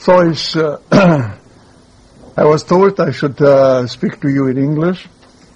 So I was told I should speak to you in English.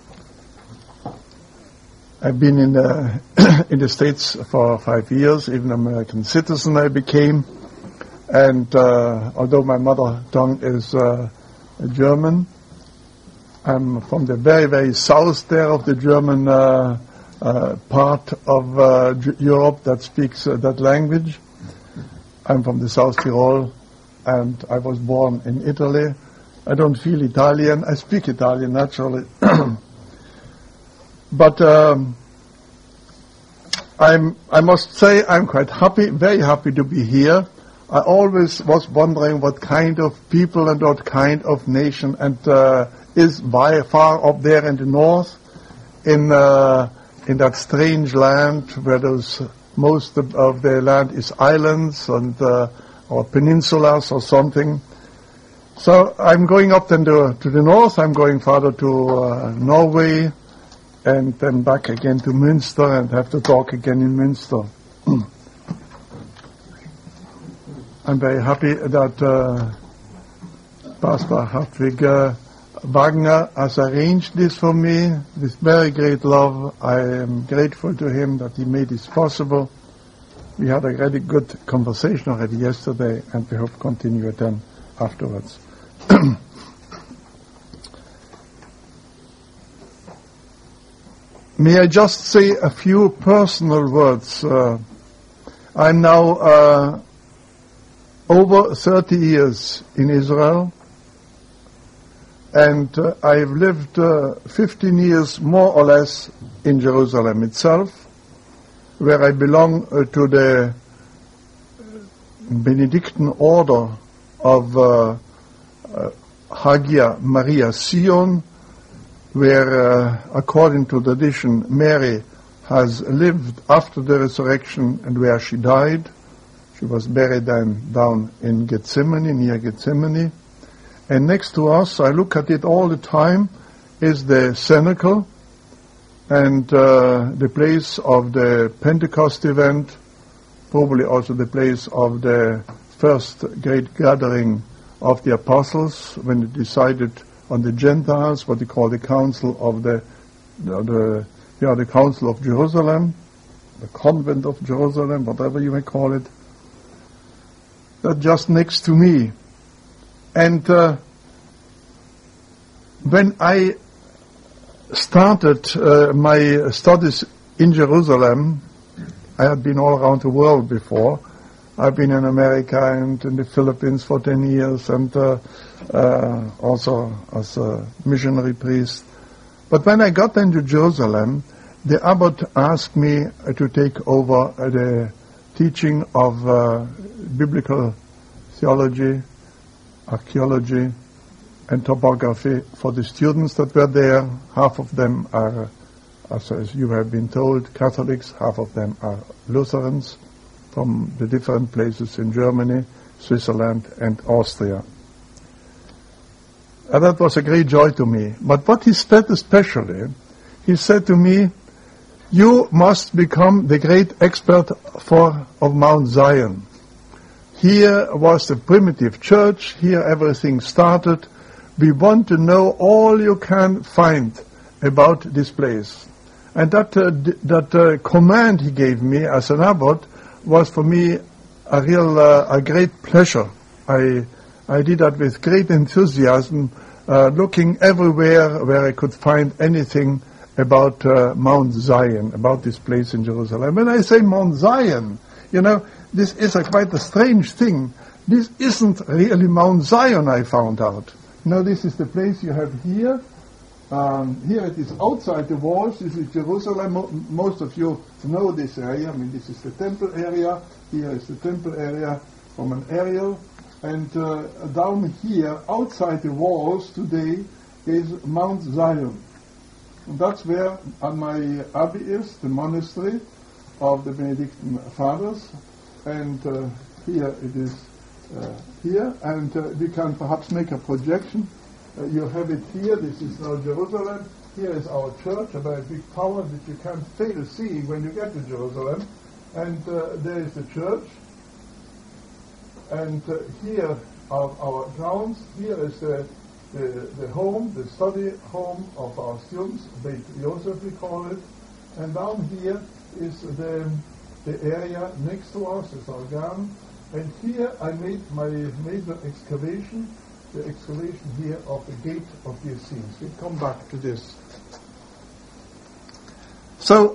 I've been in the States for 5 years, even American citizen I became. And although my mother tongue is German, I'm from the very, very south there of the German part of Europe that speaks that language. I'm from the South Tyrol, and I was born in Italy. I don't feel Italian. I speak Italian naturally. But I must say I'm quite happy, very happy to be here. I always was wondering what kind of people and what kind of nation and is by far up there in the north, in that strange land where most of the land is islands and or peninsulas or something. So I'm going up then to the north. I'm going further to Norway, and then back again to Münster, and have to talk again in Münster. I'm very happy that Pastor Hartwig Wagner has arranged this for me with very great love. I am grateful to him that he made this possible. We had a really good conversation already yesterday, and we hope to continue it then afterwards. May I just say a few personal words? I'm now over 30 years in Israel, and I've lived 15 years more or less in Jerusalem itself, where I belong to the Benedictine order of Hagia Maria Sion, where according to tradition Mary has lived after the resurrection and where she died. She was buried down in Gethsemane, near Gethsemane. And next to us, I look at it all the time, is the cenacle and the place of the Pentecost event, probably also the place of the first great gathering of the apostles when they decided on the Gentiles, what they call the Council of the Council of Jerusalem, the Convent of Jerusalem, whatever you may call it. That's just next to me. And when I started my studies in Jerusalem, I had been all around the world before. I've been in America and in the Philippines for 10 years and also as a missionary priest. But when I got into Jerusalem, the abbot asked me to take over the teaching of biblical theology, archaeology, and topography for the students that were there. Half of them are, as you have been told, Catholics, half of them are Lutherans from the different places in Germany, Switzerland, and Austria. And that was a great joy to me. But what he said especially, he said to me, you must become the great expert of Mount Zion. Here was the primitive church. Here everything started. We want to know all you can find about this place. And that command he gave me as an abbot was for me a great pleasure. I did that with great enthusiasm, looking everywhere where I could find anything about Mount Zion, about this place in Jerusalem. When I say Mount Zion, this is quite a strange thing. This isn't really Mount Zion, I found out. This is the place you have here. Here it is outside the walls. This is Jerusalem. Most of you know this area. I mean, this is the temple area. Here is the temple area from an aerial. And down here, outside the walls today, is Mount Zion. And that's where my abbey is, the monastery of the Benedictine Fathers. And here it is here. And we can perhaps make a projection. You have it here. This is now Jerusalem. Here is our church, a very big tower that you can't fail to see when you get to Jerusalem. And there is the church. And here are our grounds. Here is the home, the study home of our students, Beit Yosef we call it. And down here is the area next to us, is our garden. And here I made my major excavation, the excavation here of the gate of the Essenes. We come back to this. So,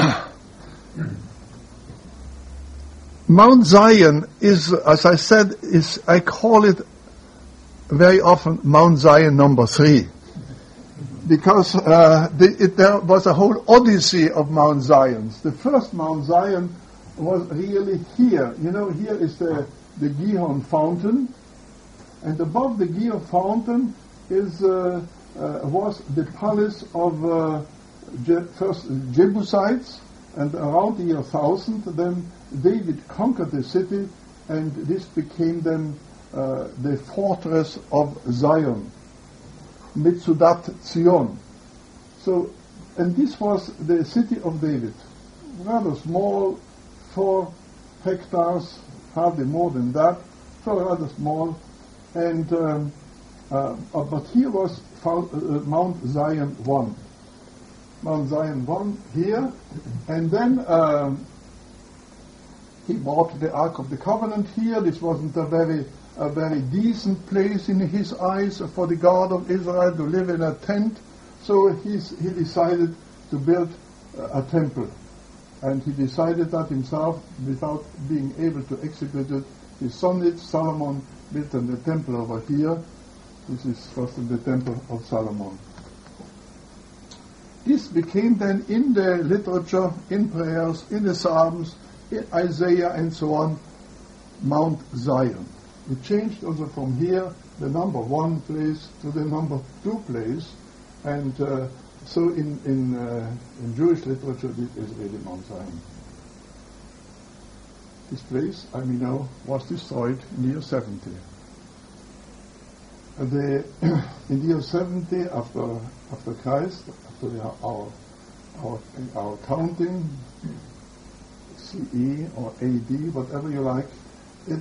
Mount Zion is, as I said, I call it very often Mount Zion number 3. Because there was a whole odyssey of Mount Zions. The first Mount Zion was really here. You know, here is the Gihon fountain. And above the Gihon fountain was the palace of first Jebusites, and around the year 1000 then David conquered the city, and this became then the fortress of Zion, Metzudat Zion. So, and this was the city of David, rather small, 4 hectares, hardly more than that, so rather small. And but here was found, Mount Zion 1. Mount Zion 1 here, and then he bought the Ark of the Covenant here. This wasn't a very decent place in his eyes for the God of Israel to live in a tent, so he decided to build a temple. And he decided that himself without being able to execute it. His son Solomon built the temple over here. This is first the temple of Solomon. This became then in the literature, in prayers, in the Psalms, in Isaiah and so on, Mount Zion. It changed also from here, the number 1 place to the number 2 place, and so in Jewish literature it is really Mount Zion. This place, I mean, was destroyed in the year 70. In the year 70 after Christ, after our counting, CE or AD, whatever you like, it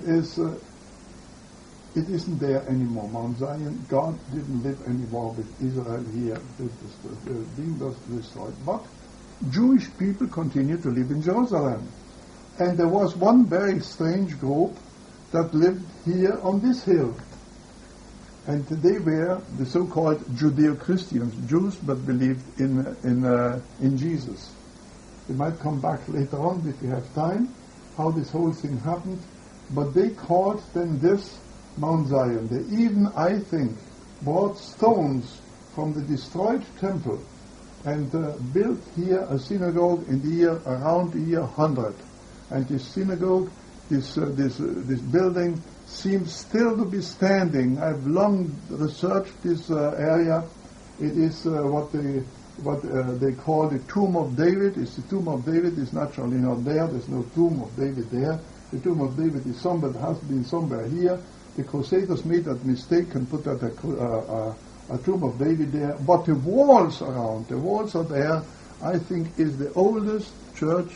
isn't there anymore. Mount Zion, God didn't live anymore with Israel here. The being was destroyed. But Jewish people continued to live in Jerusalem. And there was one very strange group that lived here on this hill. And they were the so-called Judeo-Christians, Jews but believed in Jesus. We might come back later on if we have time, how this whole thing happened. But they called then this Mount Zion. They even, I think, brought stones from the destroyed temple and built here a synagogue in the year around the year 100. And this synagogue, this building, seems still to be standing. I've long researched this area. It is what they call the Tomb of David. It's the Tomb of David. It's naturally not there. There's no Tomb of David there. The Tomb of David is somewhere, has been somewhere here. The Crusaders made that mistake and put that a Tomb of David there. But the walls around, the walls are there, I think is the oldest church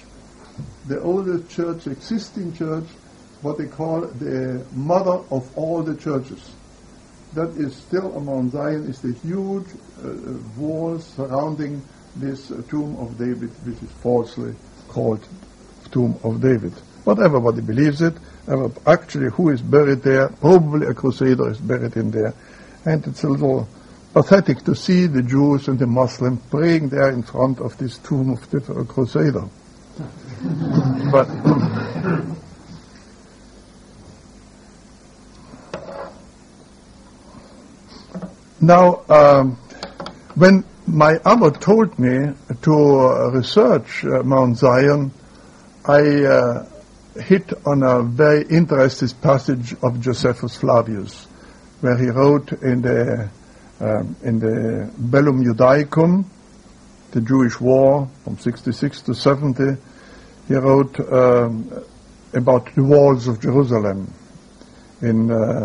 existing church, what they call the mother of all the churches. That is still on Mount Zion, is the huge walls surrounding this Tomb of David, which is falsely called Tomb of David. But everybody believes it. Actually, who is buried there? Probably a Crusader is buried in there. And it's a little pathetic to see the Jews and the Muslims praying there in front of this tomb of the Crusader. But now, when my Abba told me to research Mount Zion, I hit on a very interesting passage of Josephus Flavius, where he wrote in the Bellum Judaicum, the Jewish War from 66 to 70. He wrote about the walls of Jerusalem in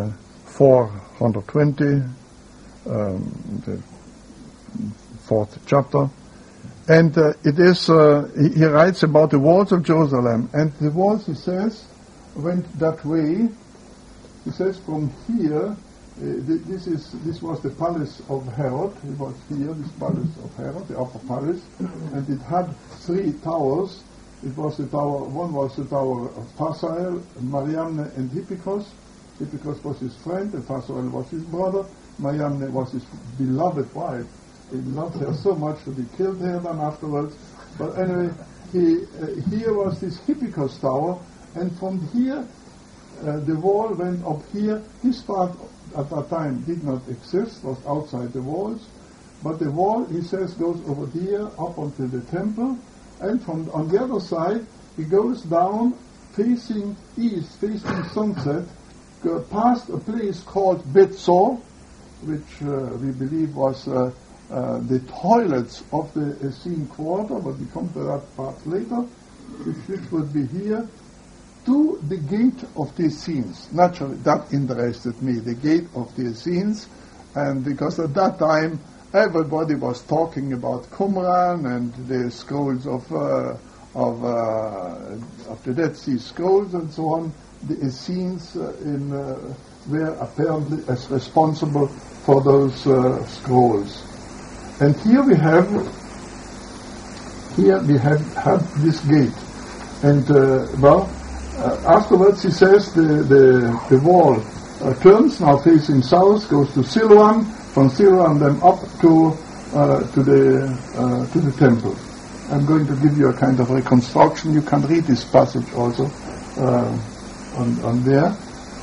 420, the 4th chapter. And it is, he writes about the walls of Jerusalem. And the walls, he says, went that way He says from here, this was the palace of Herod. It was here, this palace of Herod, the upper palace, and it had 3 towers. It was the tower. One was the tower of Phasael, Mariamne, and Hippikos. Hippikos was his friend, and Phasael was his brother. Mariamne was his beloved wife. He loved her so much that he killed her then afterwards. But anyway, here was this Hippikos tower, and from here the wall went up here. This part at that time did not exist, was outside the walls, but the wall, he says, goes over here up until the temple, and from on the other side he goes down facing east, facing sunset, past a place called Bethsor, which we believe was the toilets of the Essene quarter, but we come to that part later, which would be here, to the gate of the Essenes. Naturally, that interested me, the gate of the Essenes, and because at that time everybody was talking about Qumran and the scrolls of the Dead Sea Scrolls and so on. The Essenes were apparently as responsible for those scrolls. And here we have this gate, and afterwards he says the wall turns now facing south, goes to Siloam, from Siloam then up to the temple. I'm going to give you a kind of reconstruction. You can read this passage also on there.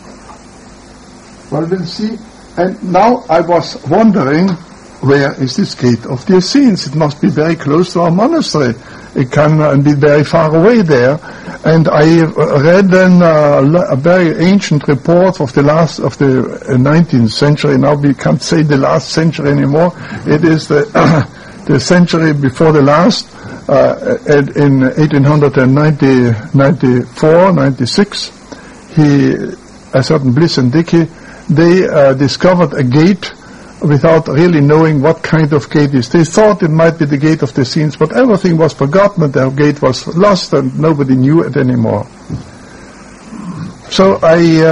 Well, we'll see. And now I was wondering, where is this gate of the Essenes? It must be very close to our monastery. It can be very far away there. And I read then a very ancient report of the 19th century. Now we can't say the last century anymore. It is the century before the last. In 1894, 96, a certain Bliss and Dickey, they discovered a gate without really knowing what kind of gate it is. They thought it might be the gate of the Essenes, but everything was forgotten, and their gate was lost, and nobody knew it anymore. So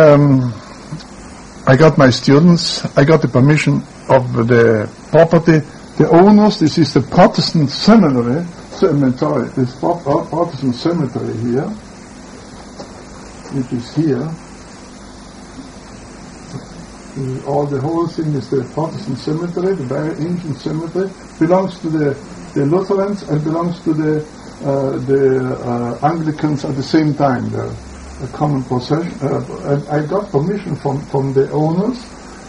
I got my students, I got the permission of the property, the owners. This is the Protestant seminary, this Protestant cemetery here, which is here. The whole thing is the Protestant cemetery, the very ancient cemetery. Belongs to the Lutherans and belongs to the Anglicans at the same time. The common possession. And I got permission from the owners,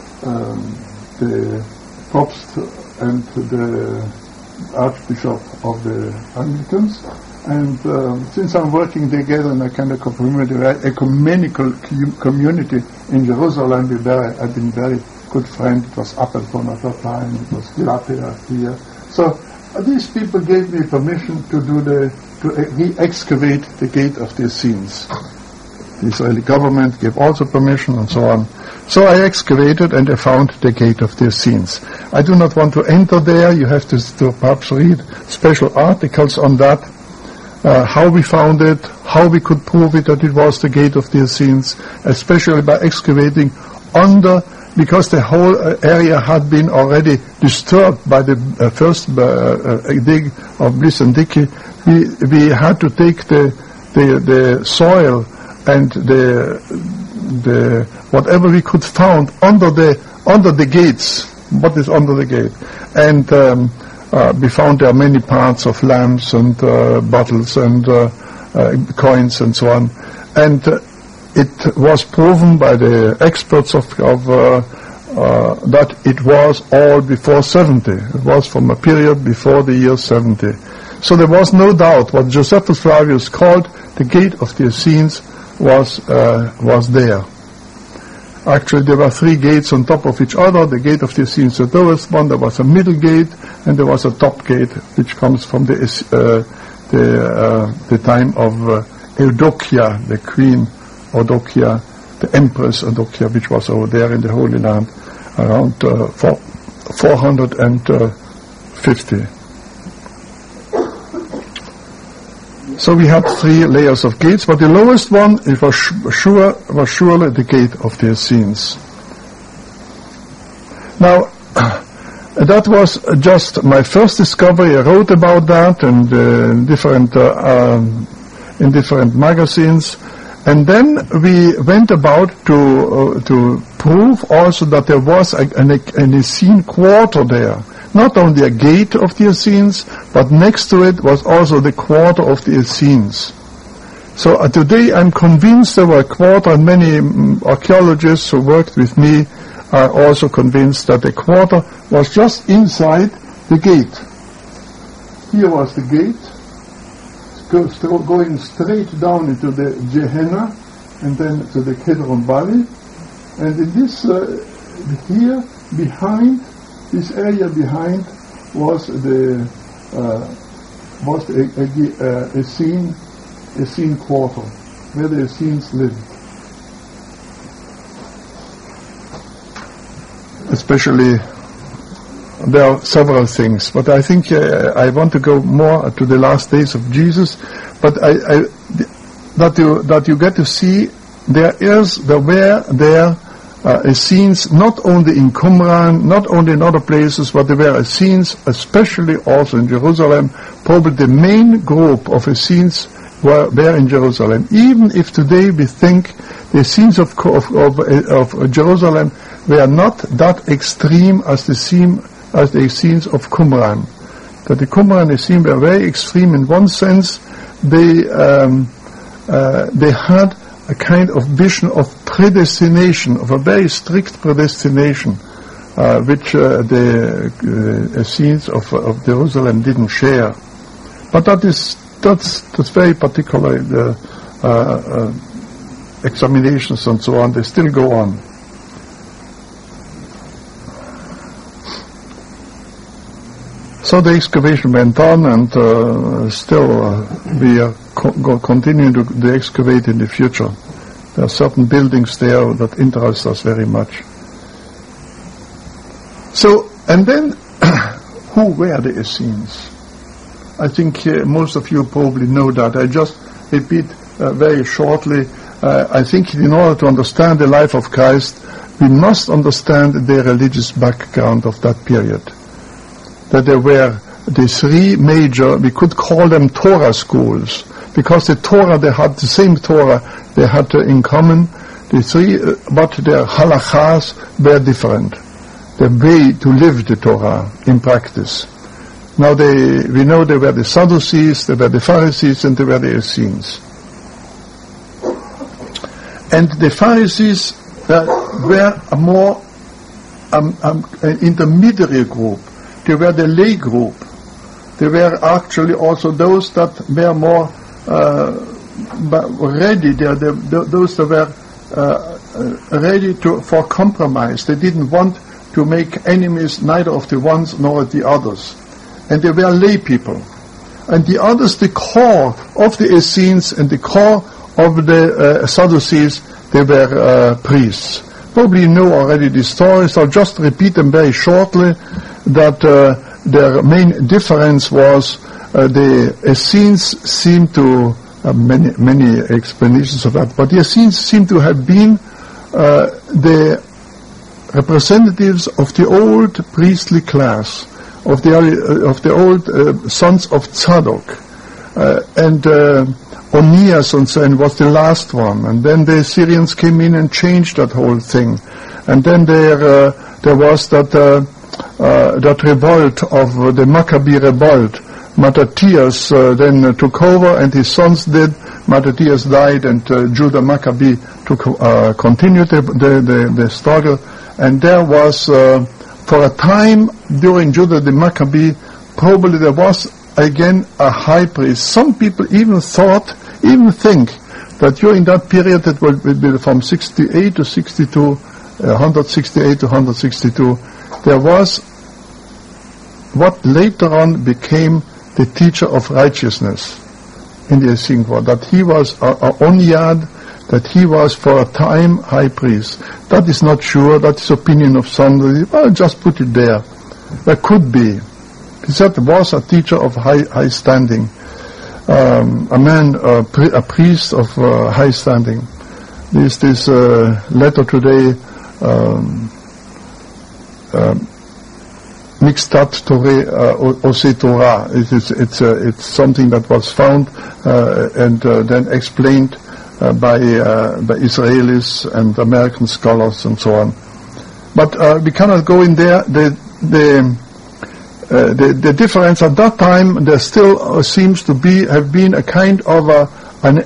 the Propst and the Archbishop of the Anglicans. And since I'm working together in a kind of ecumenical community in Jerusalem, I've been very good friend. It was Appleton at that time, it was Glatia here. So these people gave me permission to re-excavate the gate of the Essenes. The Israeli government gave also permission and so on. So I excavated and I found the gate of the Essenes. I do not want to enter there. You have to perhaps read special articles on that. How we found it, how we could prove it that it was the gate of the Essenes, especially by excavating under, because the whole area had been already disturbed by the first dig of Bliss and Dickey. We had to take the soil and the whatever we could find under the gates. What is under the gate? And we found there many parts of lamps and bottles and coins and so on. And it was proven by the experts that it was all before 70. It was from a period before the year 70. So there was no doubt what Josephus Flavius called the gate of the Essenes was there. Actually, there were 3 gates on top of each other. The gate of the Essenes, the lowest one. There was a middle gate, and there was a top gate, which comes from the time of Eudokia, the Queen Eudokia, the Empress Eudokia, which was over there in the Holy Land around 450. So we had 3 layers of gates, but the lowest one, it was surely the gate of the Essenes. Now, that was just my first discovery. I wrote about that and in different magazines. And then we went about to prove also that there was an Essene quarter there. Not only a gate of the Essenes, but next to it was also the quarter of the Essenes. So today I'm convinced there were a quarter, and many archaeologists who worked with me are also convinced that the quarter was just inside the gate. Here was the gate, going straight down into the Gehenna and then to the Kedron Valley. And in this, here behind, this area behind was the Essene quarter, where the Essenes lived. Especially, there are several things, but I think I want to go more to the last days of Jesus. But that you get to see there were Essenes not only in Qumran, not only in other places, but there were Essenes, especially also in Jerusalem. Probably the main group of Essenes were there in Jerusalem. Even if today we think the Essenes of Jerusalem were not that extreme as the Essenes of Qumran. That the Qumran Essenes were very extreme in one sense. They had a kind of vision of predestination, of a very strict predestination, which the Essenes of Jerusalem didn't share. But that's very particular. The examinations and so on, they still go on. So the excavation went on, and still we are continuing to excavate in the future. There are certain buildings there that interest us very much. So, and then, who were the Essenes? I think most of you probably know that. I just repeat very shortly. I think in order to understand the life of Christ, we must understand the religious background of that period. That there were the 3 major, we could call them Torah schools, because the Torah, they had the same Torah they had in common, the 3, but their halachas were different. The way to live the Torah in practice. Now we know they were the Sadducees, they were the Pharisees, and they were the Essenes. And the Pharisees were a more an intermediary group. They were the lay group. They were actually also those that were more ready. Those that were ready for compromise. They didn't want to make enemies neither of the ones nor of the others. And they were lay people. And the others, the core of the Essenes and the core of the Sadducees, they were priests. Probably you know already the stories. I'll just repeat them very shortly. That their main difference was the Essenes seemed to many explanations of that, but the Essenes seem to have been the representatives of the old priestly class, of the old sons of Tzadok, and Onias and so on was the last one, and then the Syrians came in and changed that whole thing, and then there was that revolt of the Maccabee revolt. Mattathias then took over, and his sons did. Mattathias died, and Judah Maccabee continued the struggle. And there was, for a time during Judah the Maccabee, probably there was again a high priest. Some people even think that during that period, that would be from 68 to 62, 168 to 162, there was what later on became the teacher of righteousness in the Essene world, that he was Onyad, that he was for a time high priest. That is not sure, that is opinion of somebody. Well, just put it there. There could be. He said there was a teacher of high standing. a man, a priest of high standing. This letter today, Mixtat Ose Torah. It's something that was found and then explained by Israelis and American scholars and so on. But we cannot go in there. The difference at that time, there still seems to have been a kind of an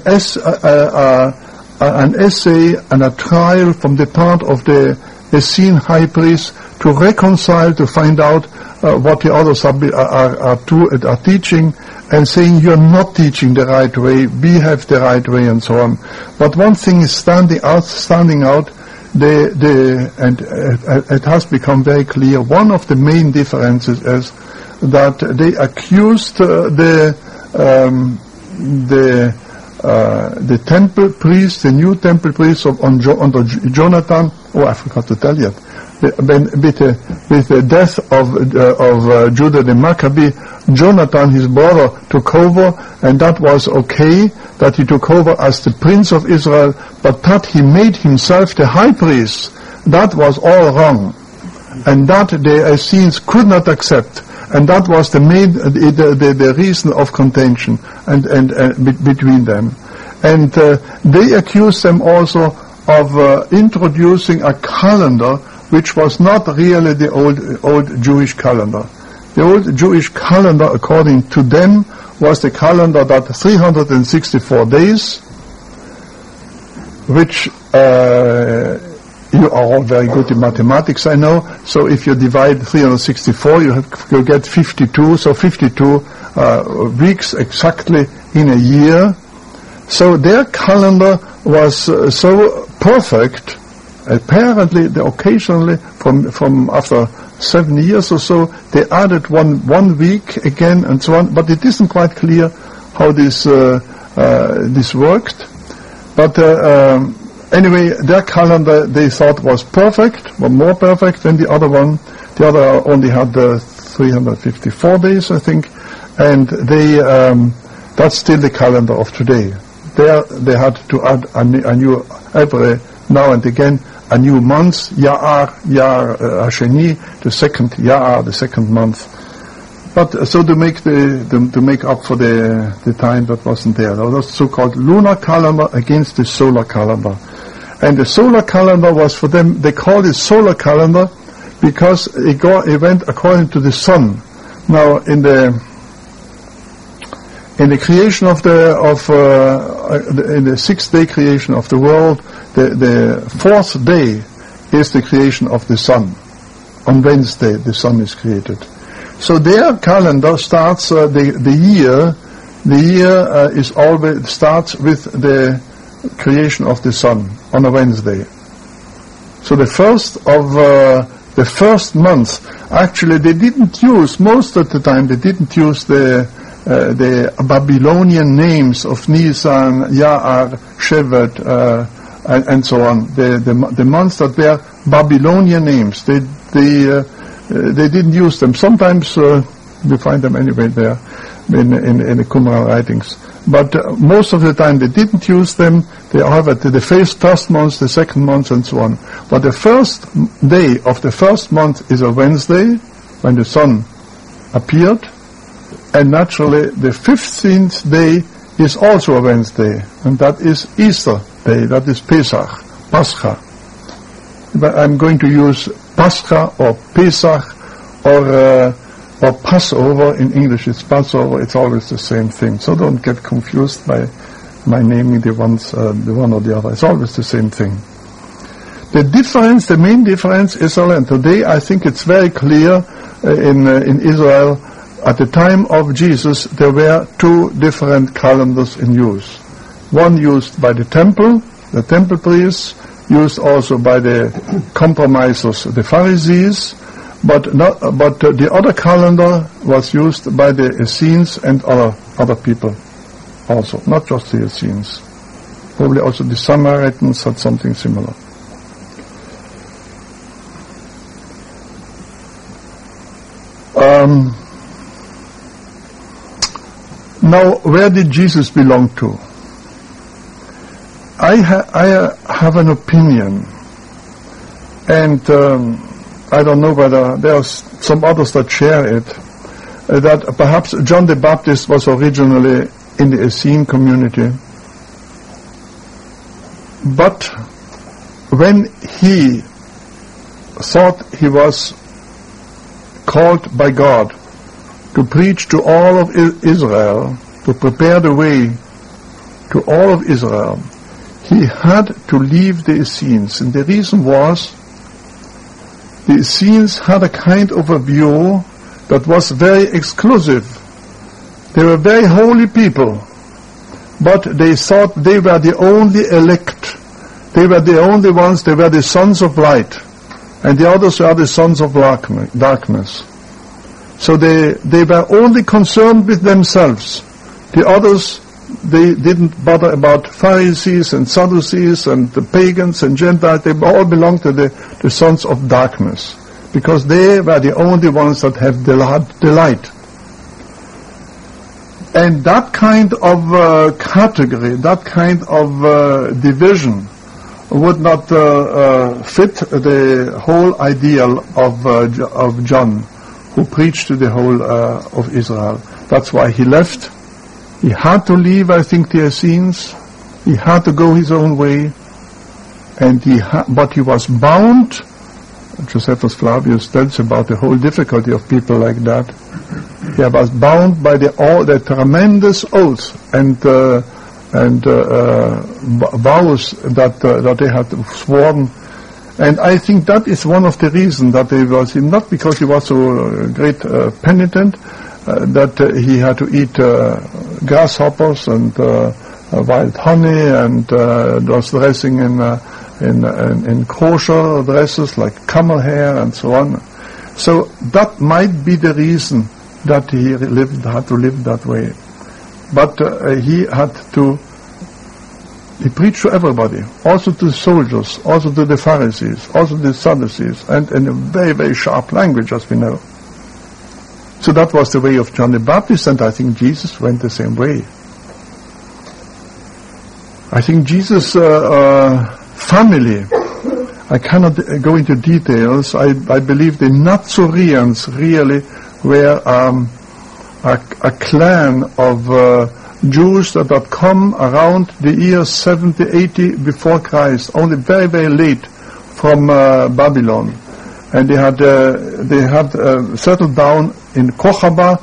essay and a trial from the part of the Essene high priest to reconcile, to find out what the others are teaching, and saying you're not teaching the right way, we have the right way, and so on. But one thing is standing out. And it has become very clear. One of the main differences is that they accused the temple priest, the new temple priest under Jonathan. Oh, I forgot to tell you. With the death of Judah the Maccabee, Jonathan, his brother, took over, and that was okay, that he took over as the prince of Israel, but that he made himself the high priest, that was all wrong. And that the Essenes could not accept. And that was the reason of contention and between them. And they accused them also of introducing a calendar which was not really the old Jewish calendar. The old Jewish calendar, according to them, was the calendar that 364 days, which you are all very good in mathematics, I know. So if you divide 364, you get 52. So 52 weeks exactly in a year. So their calendar was so perfect. Apparently, occasionally, from after 7 years or so, they added one week again and so on. But it isn't quite clear how this worked. But anyway, their calendar they thought was perfect, or more perfect than the other one. The other only had 354 days, I think, and that's still the calendar of today. There they had to add a new every now and again a new month, Ya'ar Hasheni, the second Ya'ar, the second month. But so to make up for the time that wasn't there, that was so-called lunar calendar against the solar calendar. And the solar calendar was for them, they called it solar calendar because it went according to the sun. Now in the creation in the 6-day creation of the world, the 4th day is the creation of the sun. On Wednesday the sun is created. So their calendar starts the year. The year starts with the creation of the sun on a Wednesday. So the first month, actually they didn't use, most of the time they didn't use the Babylonian names of Nisan, Ya'ar, Shevat, and so on. The months that were Babylonian names, they didn't use them. Sometimes we find them anyway there in the Qumran writings. But most of the time they didn't use them. They have the first month, the second month, and so on. But the first day of the first month is a Wednesday, when the sun appeared. And naturally, the 15th day is also a Wednesday, and that is Easter Day, that is Pesach, Pascha. But I'm going to use Pascha or Pesach or Passover. In English it's Passover, it's always the same thing. So don't get confused by my naming the one or the other. It's always the same thing. The main difference, Israel and today, I think it's very clear in Israel. At the time of Jesus, there were 2 different calendars in use. One used by the temple priests, used also by the compromisers, the Pharisees, but the other calendar was used by the Essenes and other people also, not just the Essenes. Probably also the Samaritans had something similar. Now, where did Jesus belong to? I have an opinion, and I don't know whether there are some others that share it, that perhaps John the Baptist was originally in the Essene community, but when he thought he was called by God to preach to all of Israel, to prepare the way to all of Israel, he had to leave the Essenes. And the reason was, the Essenes had a kind of a view that was very exclusive. They were very holy people, but they thought they were the only elect. They were the only ones, they were the sons of light, and the others were the sons of darkness. So they were only concerned with themselves. The others, they didn't bother about Pharisees and Sadducees and the pagans and Gentiles. They all belonged to the sons of darkness, because they were the only ones that had the light. And that kind of category, that kind of division would not fit the whole ideal of John, who preached to the whole of Israel. That's why he left. He had to leave, I think, the Essenes. He had to go his own way, and but he was bound. Josephus Flavius tells about the whole difficulty of people like that. He was bound by the tremendous oaths and vows that they had sworn. And I think that is one of the reasons that he was, not because he was so great penitent, that he had to eat grasshoppers and wild honey, and was dressing in kosher dresses like camel hair and so on. So that might be the reason that he had to live that way. But he preached to everybody, also to the soldiers, also to the Pharisees, also to the Sadducees, and in a very, very sharp language, as we know. So that was the way of John the Baptist, and I think Jesus went the same way. I think Jesus' family, I cannot go into details. I believe the Nazareans really were a clan of Jews that had come around the year 70, 80 before Christ, only very, very late from Babylon. And they had settled down in Kochaba,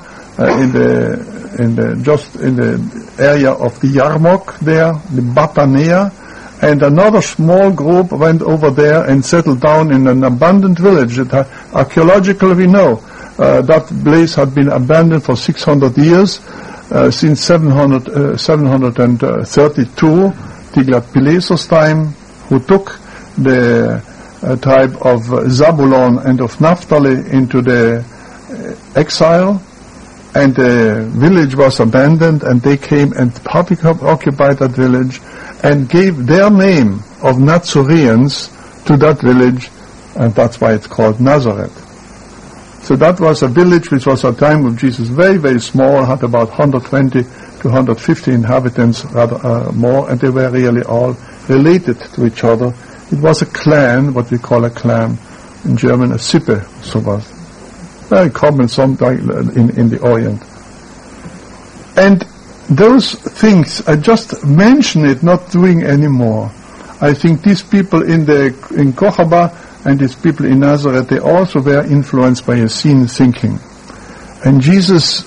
just in the area of the Yarmouk there, the Batanea, and another small group went over there and settled down in an abandoned village that archaeologically we know that place had been abandoned for 600 years, since 732, Tiglath-Pileser's time, who took the tribe of Zabulon and of Naphtali into the exile, and the village was abandoned, and they came and occupied that village and gave their name of Nazareans to that village, and that's why it's called Nazareth. So that was a village which was at the time of Jesus very, very small, had about 120 to 150 inhabitants, rather more, and they were really all related to each other. It was a clan, what we call a clan in German, a Sippe, so was very common sometimes in the Orient. And those things, I just mention it, not doing anymore. I think these people in Kochaba and these people in Nazareth, they also were influenced by Essene thinking. And Jesus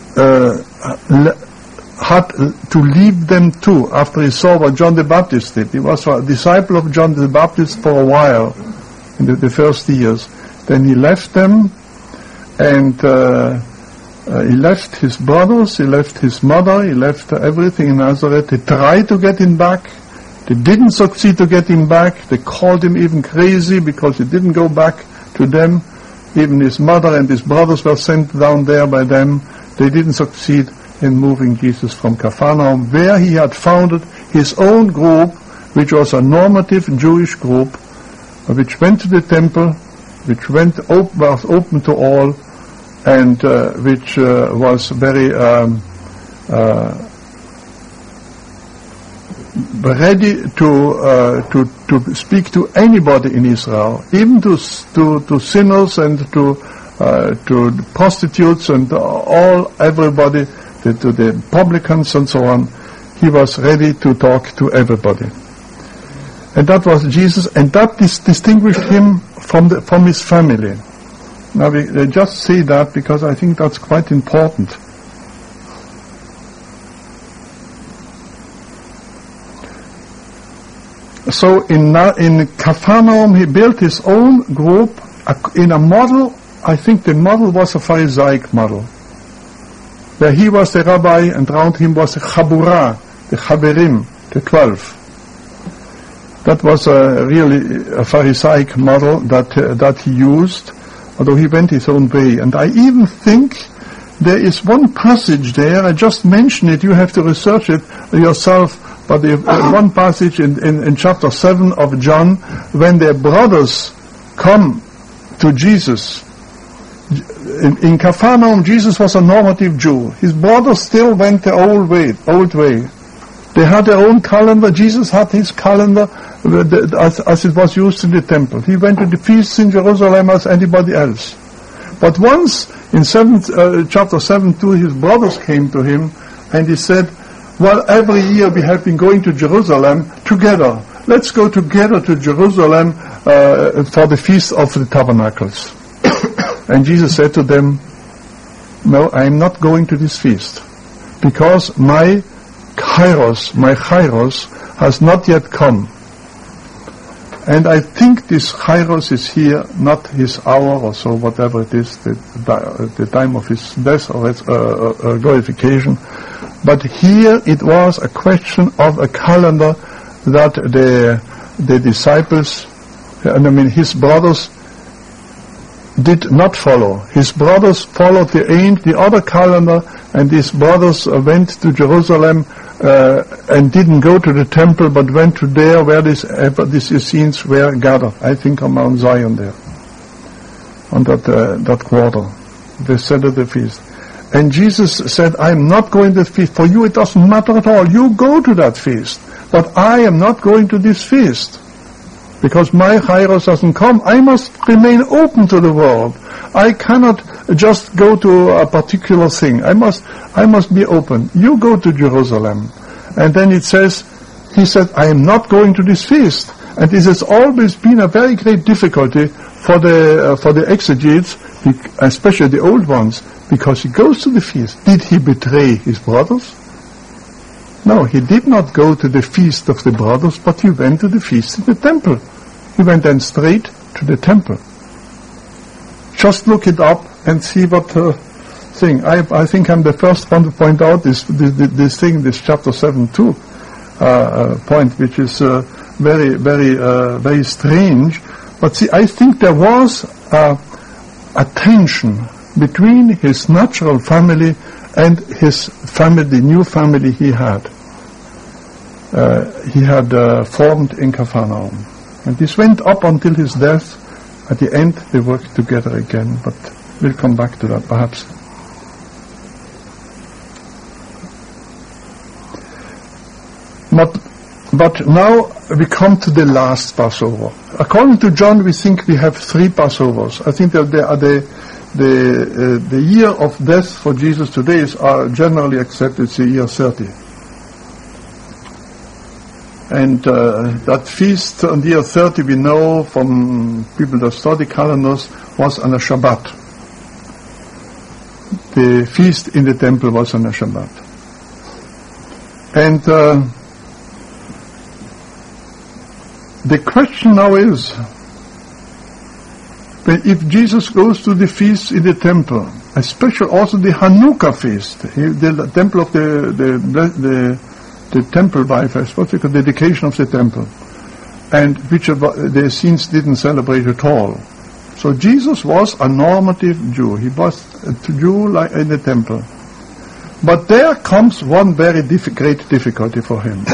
had to leave them too, after he saw what John the Baptist did. He was a disciple of John the Baptist for a while, in the first years. Then he left them, and he left his brothers, he left his mother, he left everything in Nazareth. They tried to get him back. They didn't succeed to get him back. They called him even crazy because he didn't go back to them. Even his mother and his brothers were sent down there by them. They didn't succeed in moving Jesus from Capernaum, where he had founded his own group, which was a normative Jewish group, which went to the temple, which was open to all, and which was very ready to speak to anybody in Israel, even to sinners and to prostitutes and everybody, to the publicans and so on. He was ready to talk to everybody. And that was Jesus, and that distinguished him from his family. Now we just say that because I think that's quite important. So in Capernaum he built his own group in a model. I think the model was a Pharisaic model, where he was the rabbi and around him was the Chabura, the Chaverim, the 12. That was really a Pharisaic model that he used, although he went his own way. And I even think there is one passage there, I just mentioned it, you have to research it yourself, but one passage in chapter 7 of John, when their brothers come to Jesus. In Capernaum, Jesus was a normative Jew. His brothers still went the old way. They had their own calendar. Jesus had his calendar as it was used in the temple. He went to the feasts in Jerusalem as anybody else. But once, in chapter 7:2, his brothers came to him and he said, well, every year we have been going to Jerusalem together. Let's go together to Jerusalem for the Feast of the Tabernacles. And Jesus said to them, no, I am not going to this feast, because my kairos has not yet come. And I think this kairos is here, not his hour or so, whatever it is, the time of his death or his glorification. But here it was a question of a calendar that the disciples, his brothers, did not follow. His brothers followed the other calendar, and his brothers went to Jerusalem and didn't go to the temple, but went to there where these Essenes were gathered. I think on Mount Zion there, on that quarter, they said at the feast. And Jesus said, I am not going to the feast. For you it doesn't matter at all. You go to that feast. But I am not going to this feast, because my kairos hasn't come. I must remain open to the world. I cannot just go to a particular thing. I must be open. You go to Jerusalem. And then it says, he said, I am not going to this feast. And this has always been a very great difficulty for the exegetes, especially the old ones, because he goes to the feast. Did he betray his brothers? No, he did not go to the feast of the brothers, but he went to the feast in the temple. He went then straight to the temple. Just look it up and see what thing. I think I'm the first one to point out this thing, this chapter 7:2 point, which is very strange. But see, I think there was a tension between his natural family and his family, the new family he had formed in Capernaum. And this went up until his death. At the end, they worked together again, but we'll come back to that perhaps. But now we come to the last Passover. According to John, we think we have 3 Passovers. I think that the year of death for Jesus today is generally accepted as the year 30. And that feast on the year 30, we know from people that study calendars, was on a Shabbat. The feast in the temple was on a Shabbat. And the question now is, if Jesus goes to the feast in the temple, especially also the Hanukkah feast, the temple of the temple bifast, what's it called, dedication of the temple, and which the Essenes didn't celebrate at all. So Jesus was a normative Jew. He was a Jew like in the temple. But there comes one very great difficulty for him.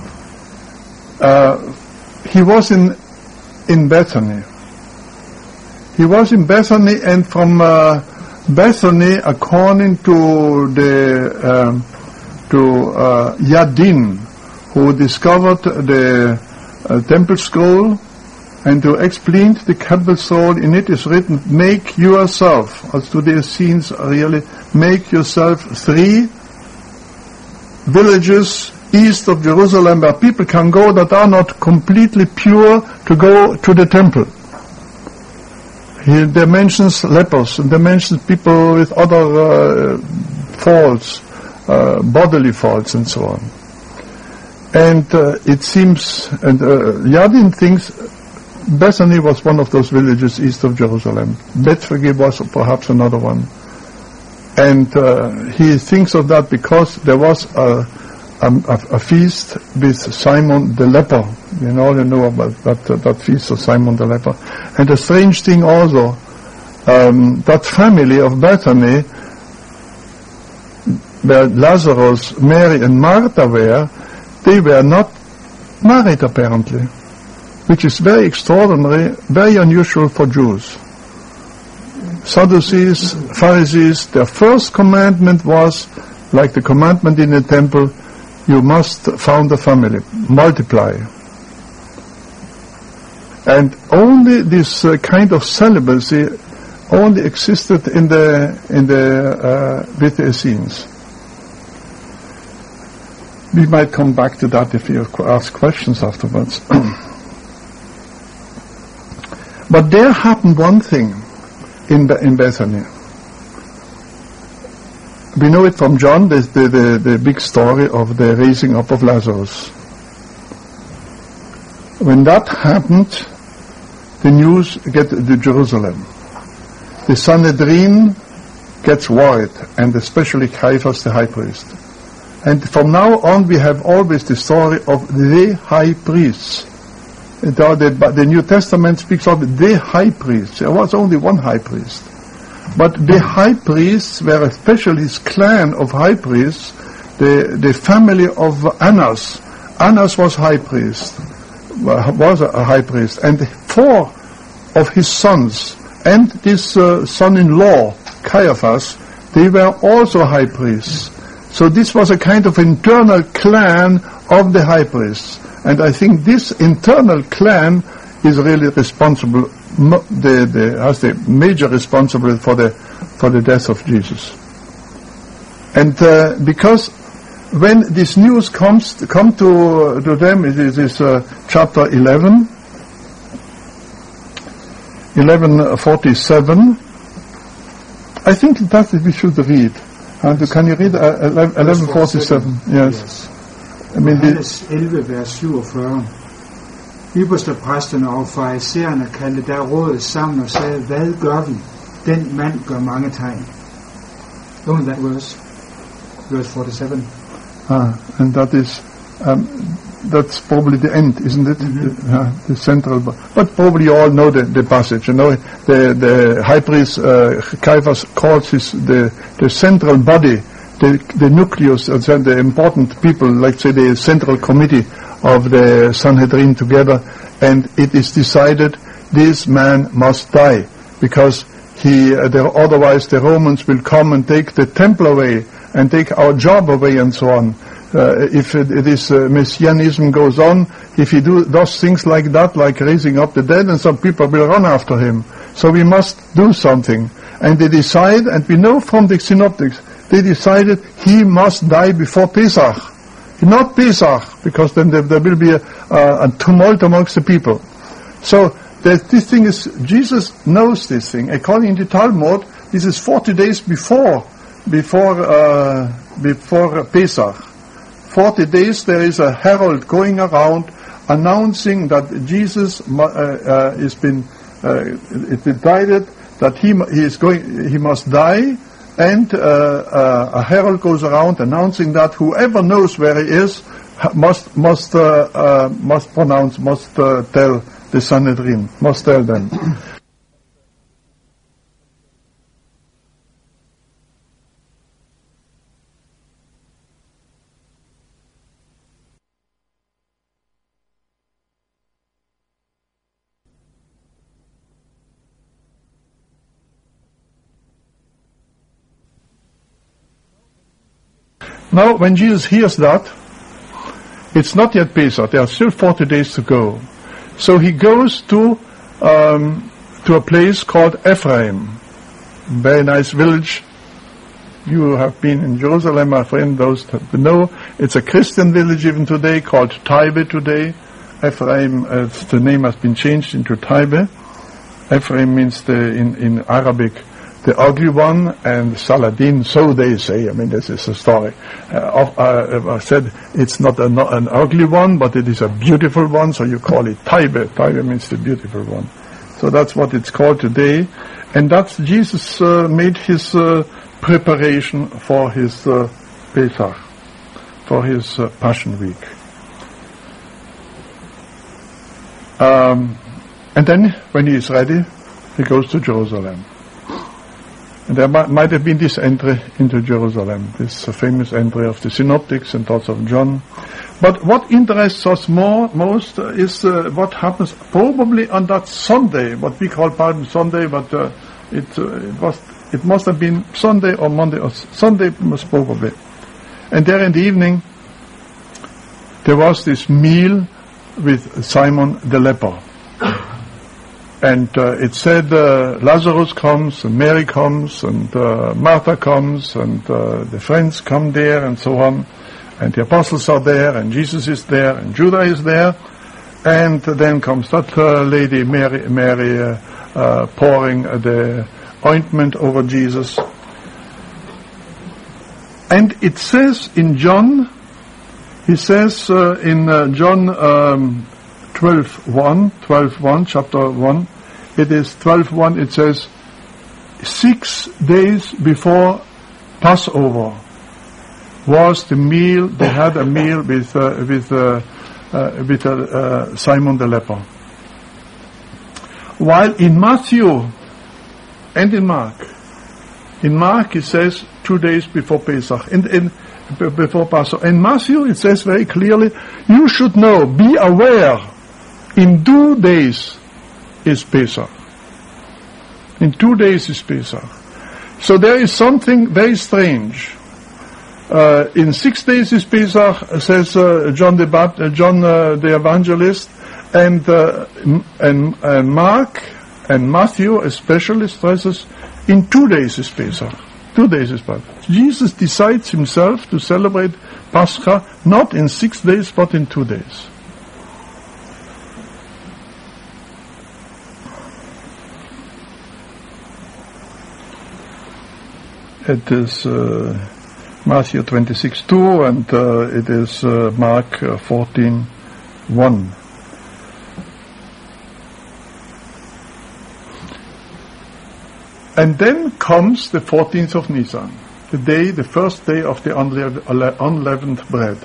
He was in Bethany. He was in Bethany, and from Bethany, according to Yadin, who discovered the temple scroll, and to explain the temple scroll. In it is written, make yourself, as to the Essenes really, make yourself 3 villages east of Jerusalem where people can go that are not completely pure to go to the temple. There mentions lepers, and there mentions people with other faults, bodily faults and so on. And it seems, and Yadin thinks Bethany was one of those villages east of Jerusalem. Bethphage was perhaps another one. And he thinks of that because there was a feast with Simon the leper. You know about that feast of Simon the leper. And a strange thing also, that family of Bethany, where Lazarus, Mary and Martha were, they were not married apparently, which is very extraordinary, very unusual for Jews. Sadducees, Pharisees, their first commandment was, like the commandment in the temple, you must found a family, multiply. And only this kind of celibacy only existed with the Essenes. We might come back to that if you ask questions afterwards. But there happened one thing in Bethany. We know it from John, the big story of the raising up of Lazarus. When that happened, the news gets to Jerusalem. The Sanhedrin gets worried, and especially Caiaphas the high priest. And from now on we have always the story of the high priests. The New Testament speaks of the high priest. There was only one high priest. But the high priests were especially this clan of high priests, the family of Annas. Annas was high priest, was a high priest. And 4 of his sons and this son-in-law, Caiaphas, they were also high priests. So this was a kind of internal clan of the high priests. And I think this internal clan is really responsible, has the major responsibility for the death of Jesus. And because when this news come to them, it is chapter 11:47. I think that we should read. And can you read 11:47? Yes. I mean, Johannes 11, vers 47. Ypperstepræsterne og farisæerne kaldte der rådet sammen og sagde, hvad gør vi? Den mand gør mange tegn. Only that verse 47. And that is, that's probably the end, isn't it? Mm-hmm. The central, but probably you all know the passage. You know, the high priest Caiaphas calls the central body, the nucleus, the important people, like say the central committee of the Sanhedrin together, and it is decided this man must die because otherwise the Romans will come and take the temple away and take our job away and so on. If this messianism goes on, if he does things like that, like raising up the dead, and some people will run after him. So we must do something. And they decide, and we know from the synoptics, they decided he must die before Pesach. Not Pesach, because then there will be a tumult amongst the people. So this thing is, Jesus knows this thing. According to Talmud, this is 40 days before Pesach. 40 days there is a herald going around announcing that Jesus has been decided that he must die, and a herald goes around announcing that whoever knows where he is must tell the Sanhedrin, must tell them. Now, when Jesus hears that, it's not yet Pesach. There are still 40 days to go. So he goes to a place called Ephraim. Very nice village. You have been in Jerusalem, my friend, those that know. It's a Christian village even today, called Taibe today. Ephraim, the name has been changed into Taibe. Ephraim means in Arabic the ugly one, and Saladin, so they say. I mean, this is a story. I said it's not an ugly one, but it is a beautiful one, so you call it Taibe. Taibe means the beautiful one. So that's what it's called today. And that's Jesus made his preparation for his Pesach, for his Passion Week. And then, when he is ready, he goes to Jerusalem. And there might have been this entry into Jerusalem, this famous entry of the Synoptics and thoughts of John. But what interests us most is what happens probably on that Sunday, what we call Palm Sunday, but it must have been Sunday or Monday, or Sunday most probably. And there in the evening, there was this meal with Simon the leper. And it said Lazarus comes, and Mary comes, and Martha comes, and the friends come there, and so on. And the apostles are there, and Jesus is there, and Judah is there. And then comes that lady, Mary pouring the ointment over Jesus. And it says in John, he says in John 12:1, chapter 1, it is 12:1, it says, 6 days before Passover was the meal, they had a meal with Simon the leper. While in Matthew and in Mark it says 2 days before Pesach, before Passover. In Matthew it says very clearly, you should know, be aware, in 2 days is Pesach. In 2 days is Pesach. So there is something very strange. In 6 days is Pesach, says John the Evangelist, and Mark and Matthew especially stresses in 2 days is Pesach. 2 days is Pesach. Jesus decides himself to celebrate Pascha not in 6 days but in 2 days. It is Matthew 26:2 and it is Mark 14:1. And then comes the 14th of Nisan, the first day of the unleavened bread.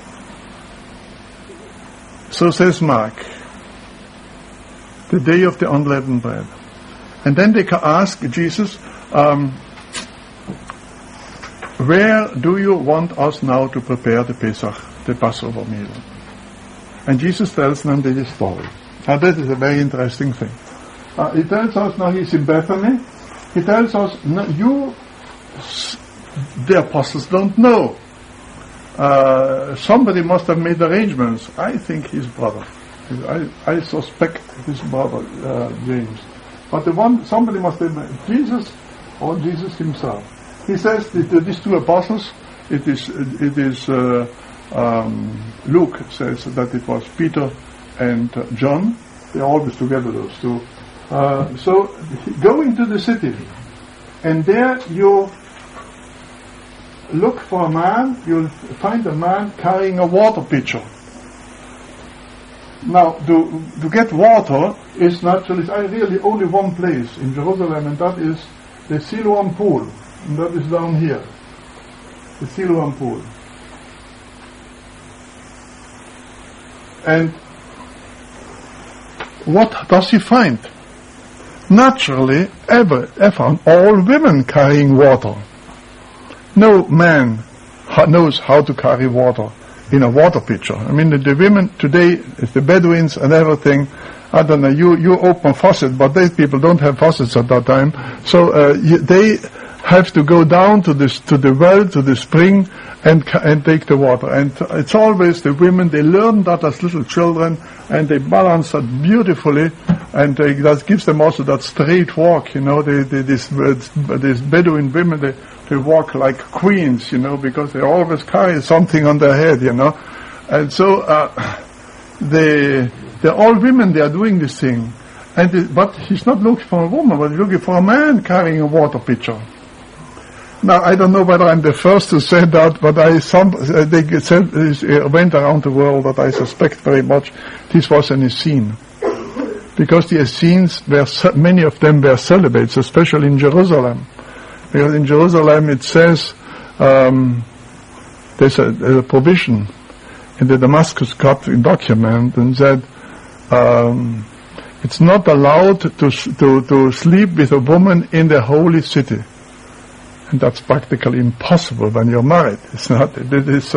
So says Mark, the day of the unleavened bread. And then they ask Jesus, where do you want us now to prepare the Pesach, the Passover meal? And Jesus tells them this story. Now that is a very interesting thing. He tells us now he's in Bethany. He tells us, no, the apostles don't know. Somebody must have made arrangements. I think his brother. I suspect his brother, James. But somebody must have made Jesus or Jesus himself. He says that these two apostles, it is Luke says that it was Peter and John. They're always together, those two. So go into the city, and there you look for a man, you'll find a man carrying a water pitcher. Now, to get water is naturally, really only one place in Jerusalem, and that is the Siloam pool. And that is down here, the Siloam pool. And what does he find? Naturally, ever found all women carrying water. No man knows how to carry water in a water pitcher. I mean, the women today, the Bedouins and everything, I don't know, you open a faucet, but these people don't have faucets at that time. So they have to go down to the well, to the spring, and take the water. And it's always the women, they learn that as little children, and they balance that beautifully, and that gives them also that straight walk, these Bedouin women, they walk like queens, because they always carry something on their head, And so, they're all women, they are doing this thing. But he's not looking for a woman, but he's looking for a man carrying a water pitcher. Now, I don't know whether I'm the first to say that, but they went around the world that I suspect very much this was an Essene. Because the Essenes, many of them were celibates, especially in Jerusalem. Because in Jerusalem it says, there's a provision in the Damascus document, and said, it's not allowed to sleep with a woman in the holy city. And that's practically impossible when you're married. It's not. It is,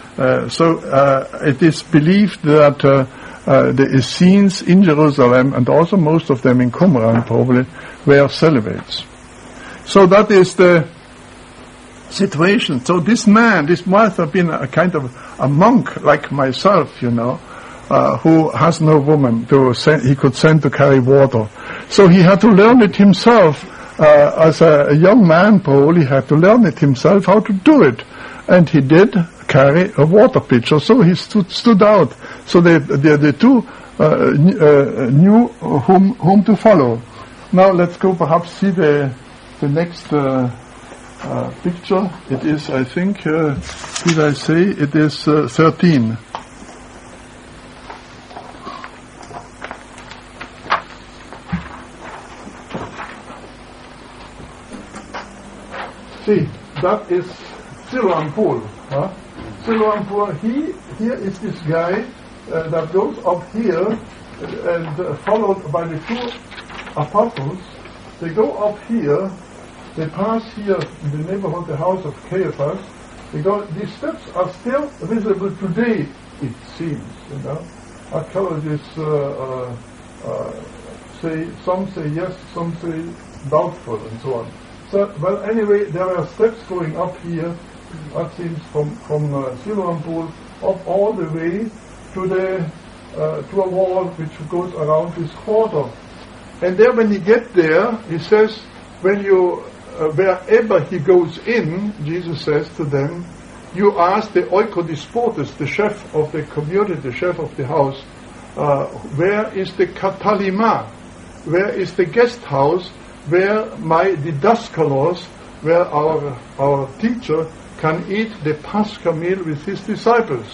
it is believed that the Essenes in Jerusalem, and also most of them in Qumran probably, were celibates. So that is the situation. So this must have been a kind of a monk like myself, who has no woman he could send to carry water. So he had to learn it himself. As a young man, probably had to learn it himself how to do it, and he did carry a water pitcher. So he stood out. So the two knew whom to follow. Now let's go perhaps see the next picture. It is, I think, did I say it is 13. See, that is Siloam Pool. Siloam Pool, here is this guy that goes up here and followed by the two apostles. They go up here, they pass here in the neighborhood, the house of Caiaphas. These steps are still visible today, it seems, Archaeologists some say yes, some say doubtful, and so on. So, well, anyway, there are steps going up here, that seems from Siloam Pool, up all the way to a wall which goes around this quarter. And there, when you get there, he says, wherever he goes in, Jesus says to them, you ask the oikodispotus, the chef of the community, the chef of the house, where is the katalima? Where is the guest house? Where my didaskalos, where our teacher can eat the Pascha meal with his disciples.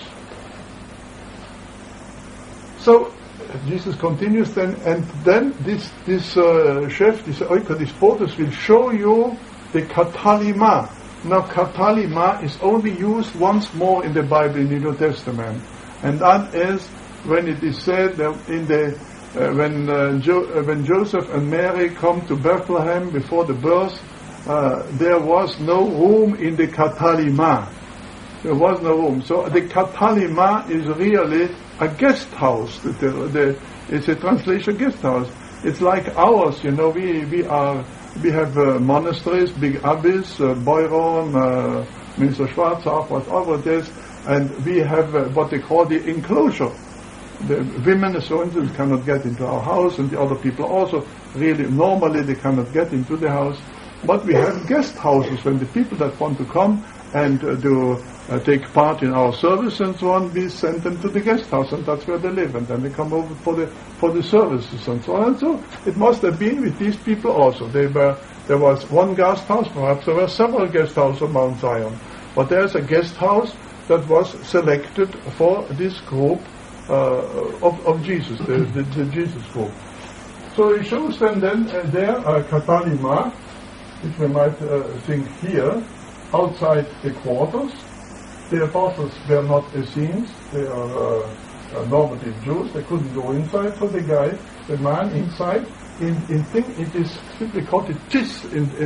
So Jesus continues then, and then this chef, this oikodispotus, will show you the katalima. Now katalima is only used once more in the Bible in the New Testament, and that is when it is said that in the when Joseph and Mary come to Bethlehem before the birth, there was no room in the katalima. There was no room. So the katalima is really a guest house. It's a translation guest house. It's like ours, we have monasteries, big abbeys, Beuron, Minister Schwarzach, whatever it is, and we have what they call the enclosure. The women, so instance, cannot get into our house, and the other people also, really, normally they cannot get into the house. But we have guest houses, when the people that want to come and take part in our service and so on, we send them to the guest house, and that's where they live, and then they come over for the services and so on. And so it must have been with these people also. There was one guest house, perhaps there were several guest houses on Mount Zion, but there's a guest house that was selected for this group of Jesus, the Jesus group. So he shows them then there katalima, which we might think here, outside the quarters. The apostles were not Essenes, they are normative Jews, they couldn't go inside, so the man inside, it is simply called a tis,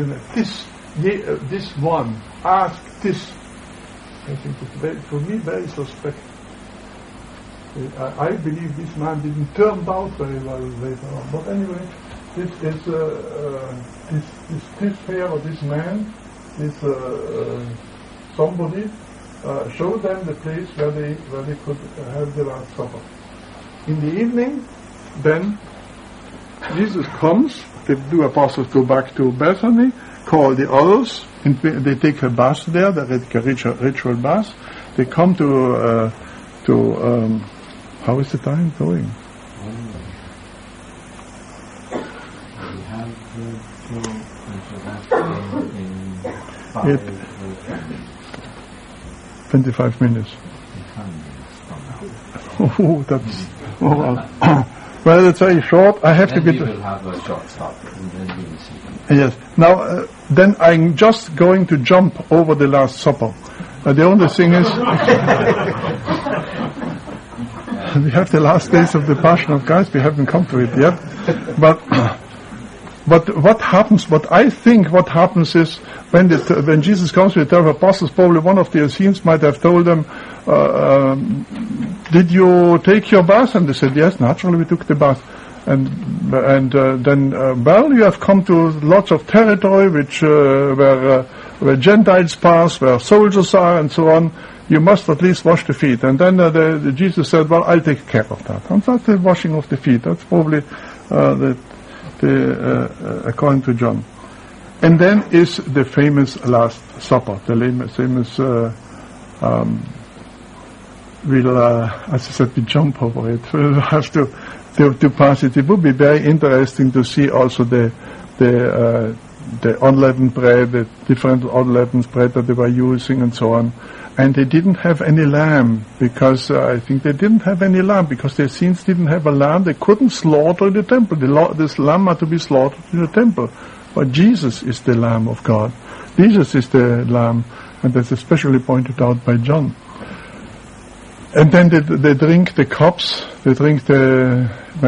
this one, ask this. I think it's for me very suspect. I believe this man didn't turn out very well later on. But anyway, this here, or this man, somebody showed them the place where they could have the Last Supper. In the evening, then Jesus comes. The two apostles go back to Bethany, call the others, and they take a bath there, the ritual bath. They come to how is the time going? We have in 25 minutes. Oh, that's well, it's very short. I have then to get. We will have a short stop, and then we will see. Yes. Now, then I'm just going to jump over the Last Supper. The only thing is, we have the last days of the Passion of Christ. We haven't come to it yet. But what happens? What I think what happens is when Jesus comes with the 12 apostles, probably one of the Essenes might have told them, "Did you take your bath?" And they said, "Yes, naturally we took the bath." And then you have come to lots of territory where Gentiles pass, where soldiers are, and so on. You must at least wash the feet. And then Jesus said, "Well, I'll take care of that." And that's the washing of the feet. That's probably according to John. And then is the famous Last Supper, the famous. As I said, we jump over it. We'll have to pass it. It would be very interesting to see also the unleavened bread, the different unleavened bread that they were using, and so on. And they didn't have any lamb, because I think they didn't have any lamb, because the Essenes didn't have a lamb. They couldn't slaughter the temple. This lamb had to be slaughtered in the temple. But Jesus is the Lamb of God. Jesus is the Lamb, and that's especially pointed out by John. And then they drink the cups. They drink the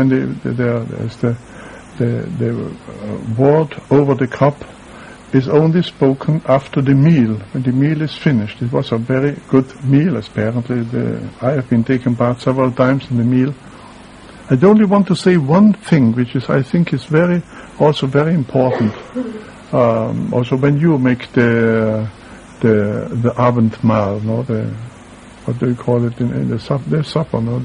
word over the cup is only spoken after the meal, when the meal is finished. It was a very good meal, apparently. I have been taken part several times in the meal. I only want to say one thing, which is I think is also very important. Also, when you make the Abendmahl, no, what do you call it in the supper, no,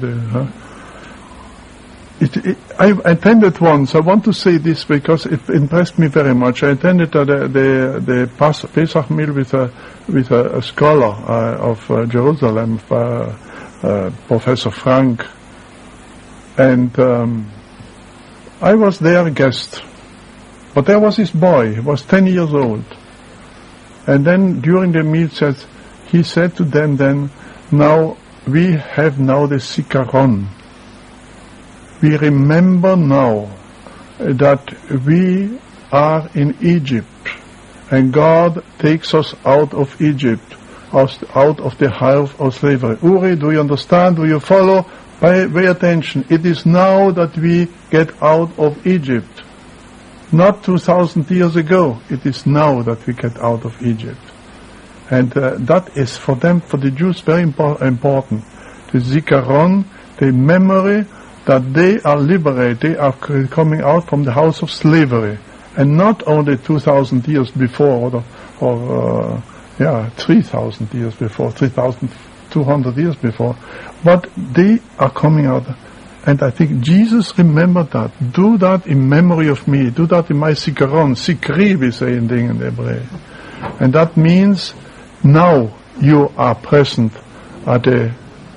I attended once. I want to say this because it impressed me very much. I attended the Pesach meal with a scholar of Jerusalem, Professor Frank, and I was their guest. But there was his boy. He was 10 years old, and then during the meal he said to them then, "Now we have now the Zikaron. We remember now that we are in Egypt, and God takes us out of Egypt, out of the house of slavery." Uri, do you understand? Do you follow? Pay attention. It is now that we get out of Egypt. Not 2,000 years ago. It is now that we get out of Egypt. And that is for them, for the Jews, very important. The Zikaron, the memory that they are liberated, they are coming out from the house of slavery, and not only 2,000 years before, or 3,000 years before, 3,200 years before, but they are coming out. And I think Jesus remembered that. Do that in memory of me. Do that in my Zikaron. Zikri, we say in Hebrew. And that means now you are present at the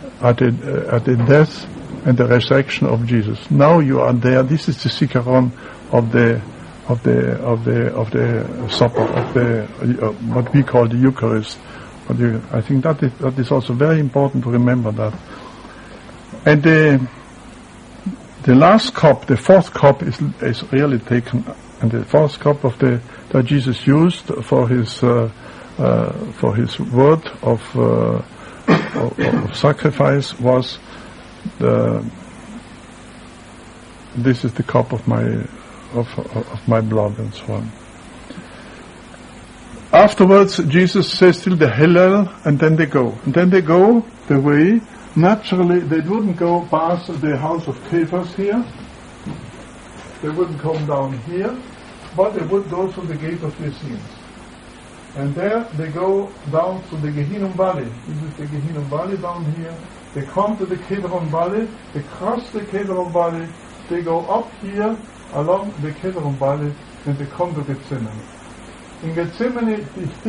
death and the resurrection of Jesus. Now you are there. This is the Zikaron of the supper, of the what we call the Eucharist. But I think that is also very important to remember that. And the last cup, the fourth cup, is really taken, and the fourth cup that Jesus used for his word of sacrifice was this is the cup of my blood, and so on. Afterwards, Jesus says till the Hillel, and then they go. And then they go the way. Naturally, they wouldn't go past the house of Caiaphas here. They wouldn't come down here, but they would go through the gate of the Essenes. And there they go down to the Gehinnom Valley. This is the Gehinnom Valley down here. They come to the Kedron Valley. They cross the Kedron Valley. They go up here along the Kedron Valley, and they come to Gethsemane. In Gethsemane,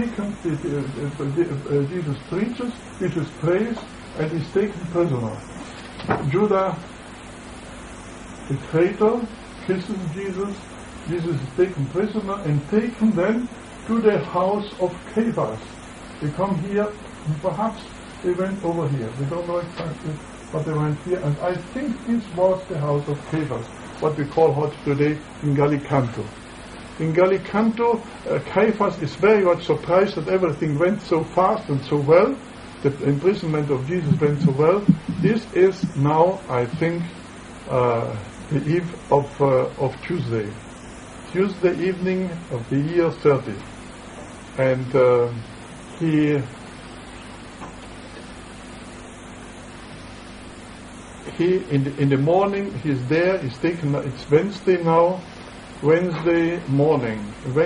Jesus preaches, Jesus prays, and is taken prisoner. Judah, the traitor, kisses Jesus. Jesus is taken prisoner and taken then to the house of Caiaphas. They come here, and perhaps they went over here. We don't know exactly, but they went here. And I think this was the house of Caiaphas, what we call hot today in Gallicanto. In Gallicanto, Caiaphas is very much surprised that everything went so fast and so well. The imprisonment of Jesus went so well. This is now, I think, the eve of Tuesday evening of the year 30. And he in the morning he's there. He's taken. It's Wednesday now. Wednesday morning,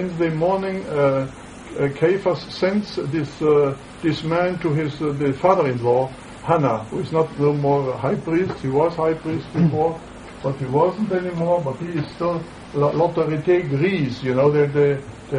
Caiaphas sends this man to his the father-in-law, Hannah, who is not no more high priest. He was high priest before, but he wasn't anymore. But he is still l'autorité grise. You know, the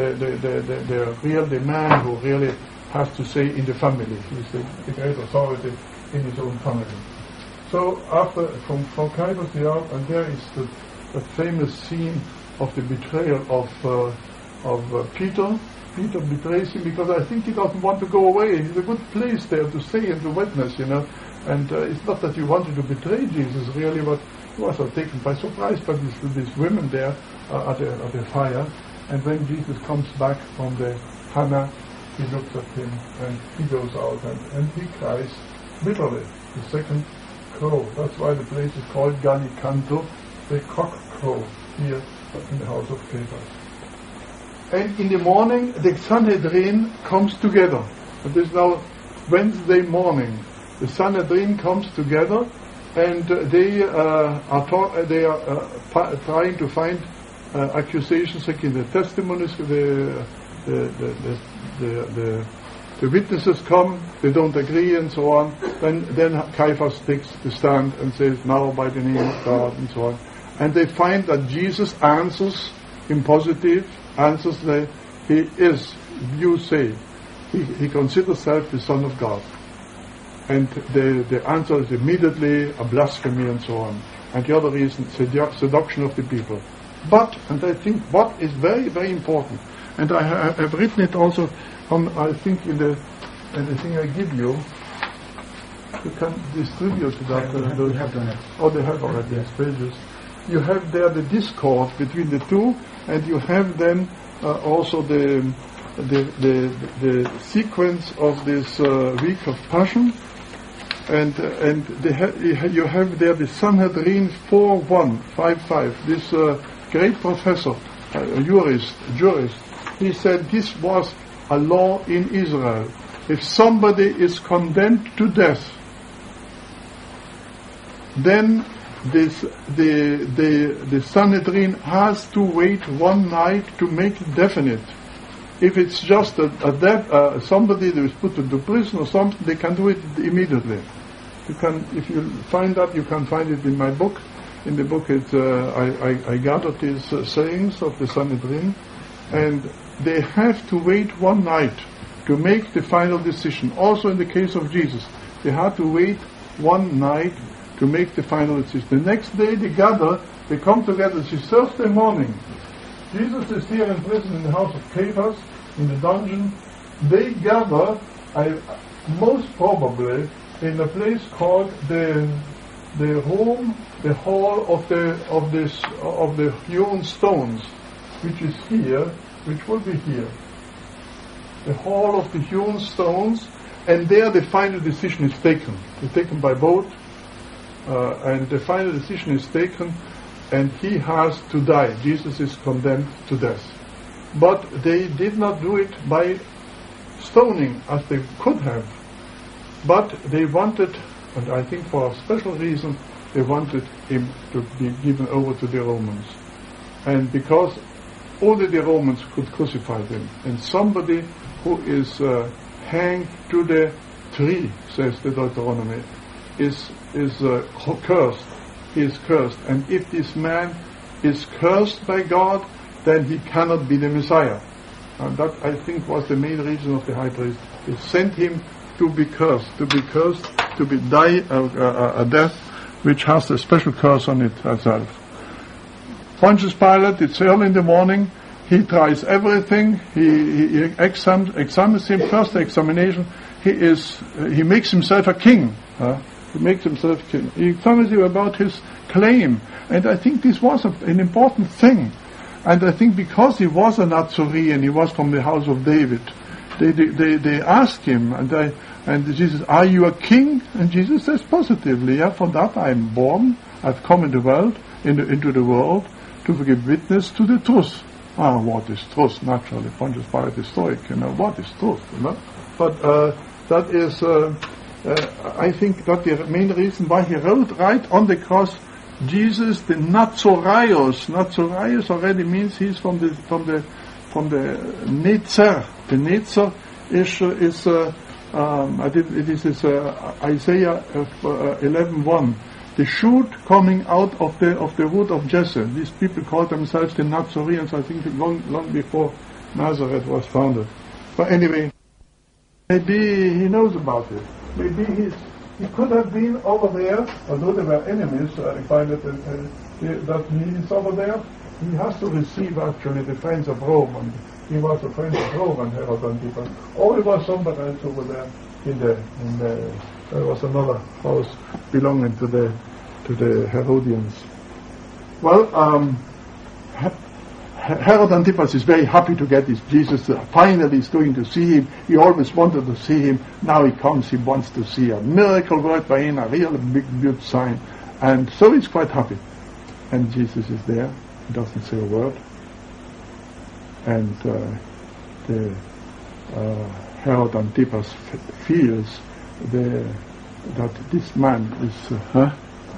man who really has to say in the family. He's the great authority in his own family. So after from Caiaphas they are, and there is the famous scene of the betrayal of Peter. Peter betrays him because I think he doesn't want to go away. It's a good place there to stay and to witness, you know. And it's not that he wanted to betray Jesus really, but he was taken by surprise by these women there at the fire. And when Jesus comes back from the Hannah, he looks at him and he goes out and he cries bitterly. The second crow. That's why the place is called Gallicanto, the cock crow, here in the house of Caiaphas. And in the morning, the Sanhedrin comes together. It is now Wednesday morning. The Sanhedrin comes together, and they are trying to find accusations against the testimonies. The witnesses come. They don't agree, and so on. Then Caiaphas takes the stand and says, "Now by the name of God," and so on. And they find that Jesus answers in positive, answers that he is, you say, he considers himself the Son of God. And the answer is immediately a blasphemy and so on. And the other reason, seduction of the people. But, and I think what is very, very important, and I have written it also on, I think in the thing I give you can distribute that. We have done it. Oh, they have already, yes, pages. You have there the discord between the two, and you have then also the sequence of this week of Passion, and you have there the Sanhedrin 4:155. This great professor, jurist, he said this was a law in Israel. If somebody is condemned to death, then the Sanhedrin has to wait one night to make it definite. If it's just somebody that is put into prison or something, they can do it immediately. You can, if you find that, you can find it in my book. In the book, I gathered these sayings of the Sanhedrin, and they have to wait one night to make the final decision. Also, in the case of Jesus, they had to wait one night to make the final decision. The next day they gather, they come together. It's Thursday morning. Jesus is here in prison in the house of Caiaphas, in the dungeon. They gather, most probably, in a place called the hall of the hewn stones, which is here, which will be here. The hall of the hewn stones, and there the final decision is taken. It's taken by boat. And the final decision is taken, and he has to die. Jesus is condemned to death. But they did not do it by stoning as they could have. But they wanted, and I think for a special reason, they wanted him to be given over to the Romans. And because only the Romans could crucify him, and somebody who is hanged to the tree, says the Deuteronomy, is cursed. He is cursed. And if this man is cursed by God, then he cannot be the Messiah. And that, I think, was the main reason of the high priest. He sent him to be cursed, to die a death which has a special curse on it itself. Pontius Pilate, it's early in the morning, he tries everything, he examines him, first examination, he makes himself a king. He makes himself king. He examines him about his claim. And I think this was an important thing. And I think because he was a Nazarene, he was from the house of David, they asked him, and Jesus, are you a king? And Jesus says positively, yeah, for that I am born, I've come into the world to give witness to the truth. What is truth? Naturally, Pontius Pilate is Stoic, what is truth, But that is, I think that the main reason why he wrote right on the cross, Jesus the Nazarios. Nazarios already means he's from the Netzer. The Netzer is Isaiah 11:1. The shoot coming out of the root of Jesse. These people called themselves the Nazareans, I think long before Nazareth was founded. But anyway, maybe he knows about it. Maybe he could have been over there, although they were enemies. I find that he is over there. He has to receive actually the friends of Rome, and he was a friend of Rome and Herod Antipas. Or he was somewhere else over there there was another house belonging to the Herodians. Well, Herod Antipas is very happy to get this Jesus. Finally is going to see him. He always wanted to see him. Now he comes, he wants to see a miracle worked by him, a real big sign. And so he's quite happy. And Jesus is there. He doesn't say a word. And Herod Antipas feels that this man is...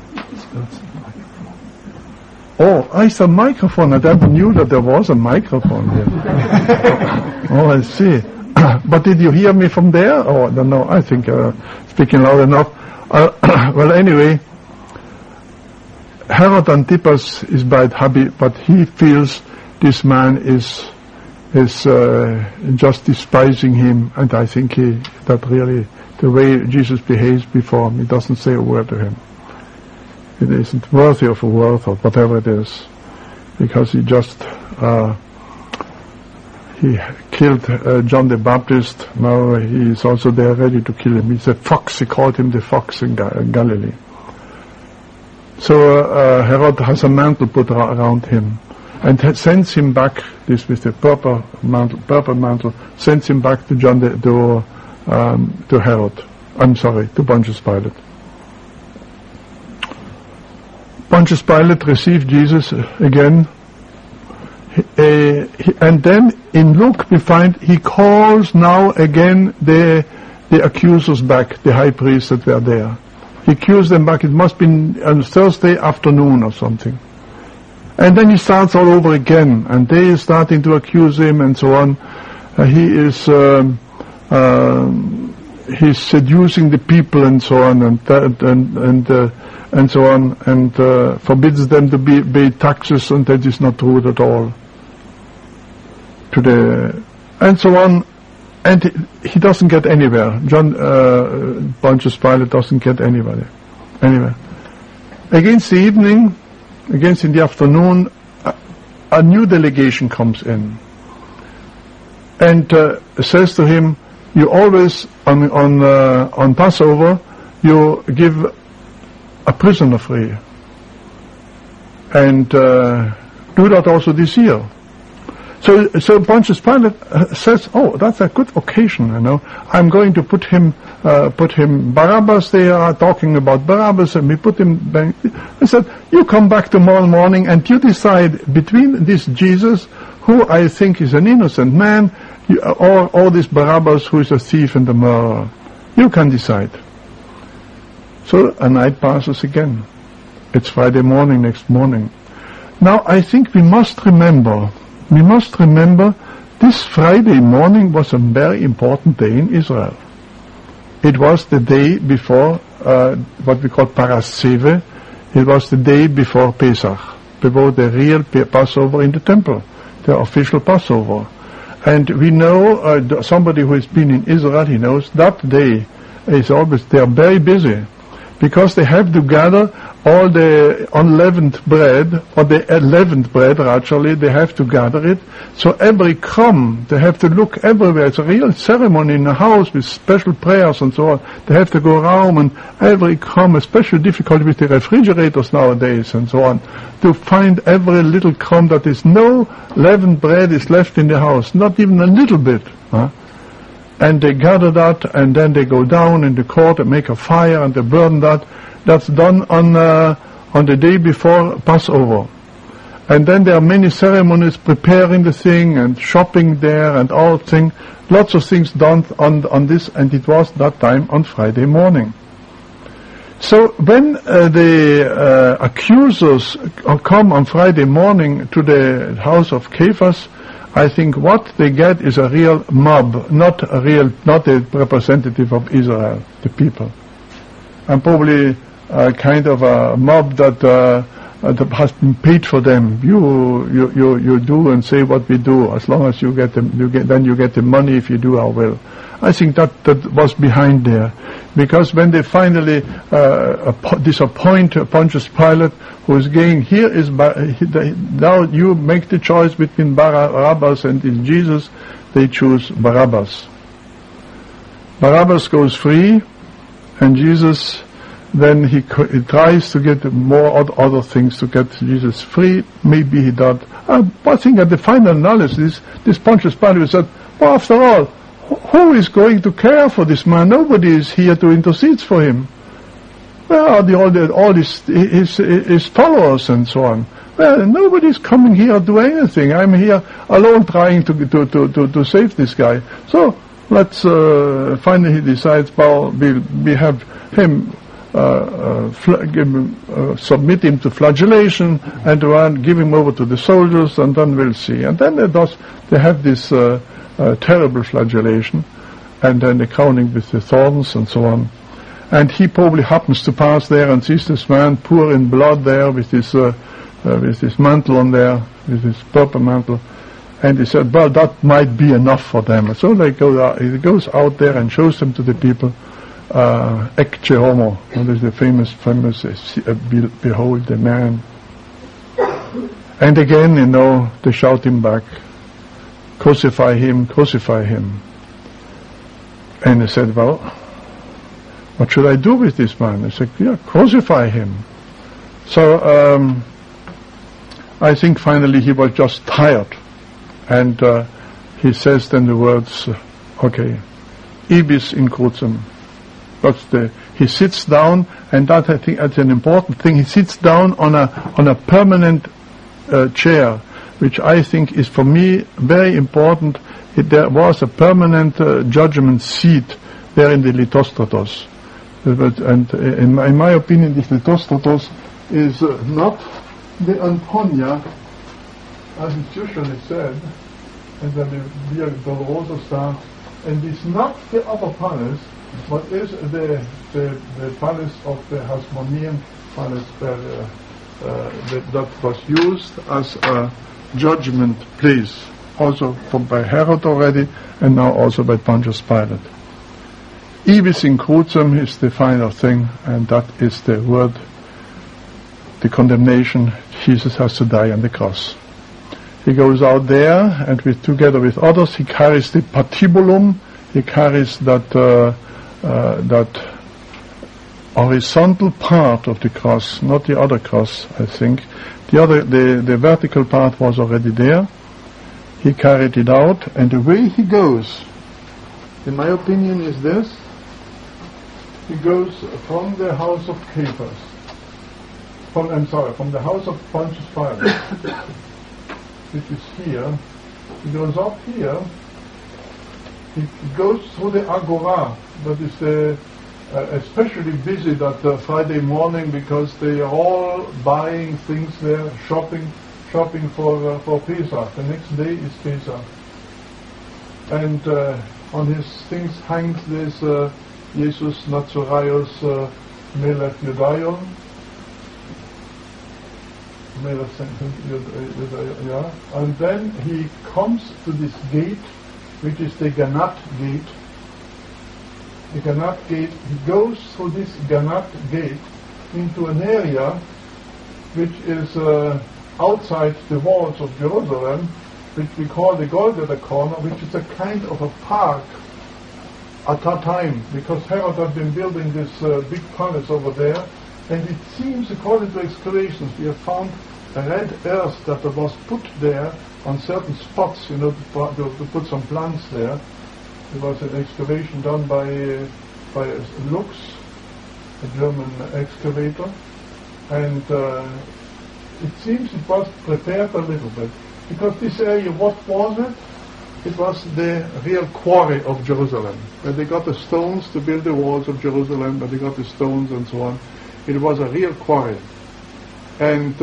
Oh, it's a microphone. I never knew that there was a microphone here. Oh, I see. But did you hear me from there? Oh, I don't know. I think speaking loud enough. Well, anyway, Herod Antipas is quite happy, but he feels this man is just despising him, and I think that really the way Jesus behaves before him, he doesn't say a word to him. It isn't worthy of a word or whatever it is, because he just he killed John the Baptist. Now he is also there ready to kill him. He's a fox. He called him the fox in Galilee. So Herod has a mantle put around him and sends him back. This with the purple mantle, sends him back to to Herod. I'm sorry, to Pontius Pilate. Pontius Pilate received Jesus again, and then in Luke we find he calls now again the accusers back, the high priests that were there. He calls them back. It must be on Thursday afternoon or something. And then he starts all over again, and they are starting to accuse him and so on. He's seducing the people and so on, and so on, and forbids them to pay taxes, and that is not true at all. And so on, and he doesn't get anywhere. Pontius Pilate doesn't get anywhere. Against the afternoon, a new delegation comes in, and says to him, "You always on Passover, you give a prisoner free, and do that also this year." So Pontius Pilate says, "Oh, that's a good occasion, I'm going to put him Barabbas." They are talking about Barabbas, and we put him back. I said, "You come back tomorrow morning, and you decide between this Jesus, who I think is an innocent man, or this Barabbas, who is a thief and a murderer. You can decide." So a night passes again. It's Friday morning, next morning. Now I think we must remember This Friday morning was a very important day in Israel. It was the day before what we call Parasceve. It was the day before Pesach, before the real Passover in the temple, the official Passover. And we know, somebody who has been in Israel, he knows that day is always, they are very busy, because they have to gather all the unleavened bread, or the leavened bread actually, they have to gather it. So every crumb, they have to look everywhere. It's a real ceremony in the house with special prayers and so on. They have to go around and every crumb, especially difficult with the refrigerators nowadays and so on, to find every little crumb that is no leavened bread is left in the house, not even a little bit. And they gather that, and then they go down in the court and make a fire and they burn that. That's done on the day before Passover. And then there are many ceremonies preparing the thing and shopping there and all things. Lots of things done on this, and it was that time on Friday morning. So when the accusers come on Friday morning to the house of Caiaphas, I think what they get is a real mob, not a representative of Israel, the people. And probably kind of a mob that has been paid for them. You do and say what we do. As long as you get the money if you do our will. I think that was behind there, because when they finally disappoint Pontius Pilate, who is saying, now you make the choice between Barabbas and Jesus, they choose Barabbas. Barabbas goes free, and Jesus, then he tries to get more other things to get Jesus free. Maybe he does. I think at the final analysis, this Pontius Pilate said, well, after all, who is going to care for this man? Nobody is here to intercede for him. Where are all his followers and so on? Well, nobody is coming here to do anything. I'm here alone trying to save this guy. So let's finally he decides, well, we have him submit him to flagellation and give him over to the soldiers, and then we'll see. And then they have this terrible flagellation, and then the crowning with the thorns and so on. And he probably happens to pass there and sees this man poor in blood there with his mantle on there, with his purple mantle. And he said, well, that might be enough for them. So he goes out there and shows them to the people, Ecce homo, that is the famous, behold the man. And again, they shout him back, crucify him, crucify him. And he said, well, what should I do with this man? I said, yeah, crucify him. So I think finally he was just tired. And he says then the words, okay, ibis in crucem. He sits down, and that I think that's an important thing. He sits down on a permanent chair, which I think is for me very important. There was a permanent judgment seat there in the Lithostratos. And in my opinion, this Lithostratos is not the Antonia, as it's usually said, and then the Via Dolorosa star, and it's not the upper palace, but is the palace of the Hasmonean palace that was used as a judgment place, also by Herod already, and now also by Pontius Pilate. Ibis in crucem is the final thing, and that is the word, the condemnation. Jesus has to die on the cross. He goes out there, and together with others, he carries the patibulum. He carries that horizontal part of the cross, not the other cross, I think. The vertical part was already there. He carried it out, and the way he goes, in my opinion, is this. He goes from the house of Caiaphas, from the house of Pontius Pilate, which is here. He goes up here. He goes through the Agora, that is especially busy that Friday morning, because they are all buying things there, shopping for Pesach. The next day is Pesach. and on his things hangs this Jesus Nazaraios Melech Judaion. And then he comes to this gate, which is the Ganat gate. The Ganat gate, he goes through this Ganat gate into an area which is outside the walls of Jerusalem, which we call the Golgotha Corner, which is a kind of a park at that time, because Herod had been building this big palace over there, and it seems, according to excavations, we have found a red earth that was put there on certain spots, to put some plants there. It was an excavation done by Lux, a German excavator, and it seems it was prepared a little bit, because this area, what was it? It was the real quarry of Jerusalem, where they got the stones to build the walls of Jerusalem, where they got the stones and so on. It was a real quarry. And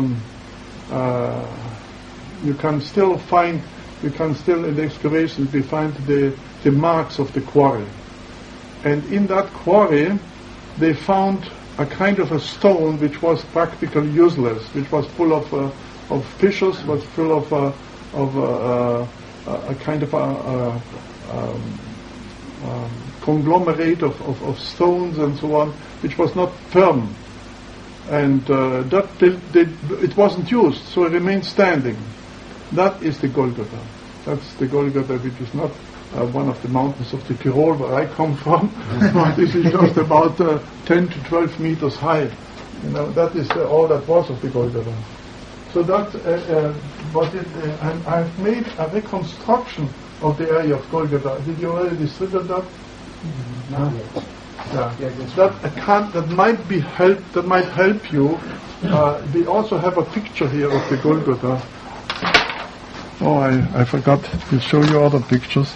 you can still in the excavations, we find the marks of the quarry. And in that quarry, they found a kind of a stone which was practically useless, which was full of fissures, was full of a kind of a conglomerate of stones and so on, which was not firm. And it wasn't used, so it remained standing. That is the Golgotha. That's the Golgotha, which is not one of the mountains of the Tyrol where I come from. This is just about 10 to 12 meters high. That is all that was of the Golgotha. So that and I've made a reconstruction of the area of Golgotha. Did you already distribute that? Not yet. Yeah. That might help you. We also have a picture here of the Golgotha. Oh, I forgot to show you other pictures.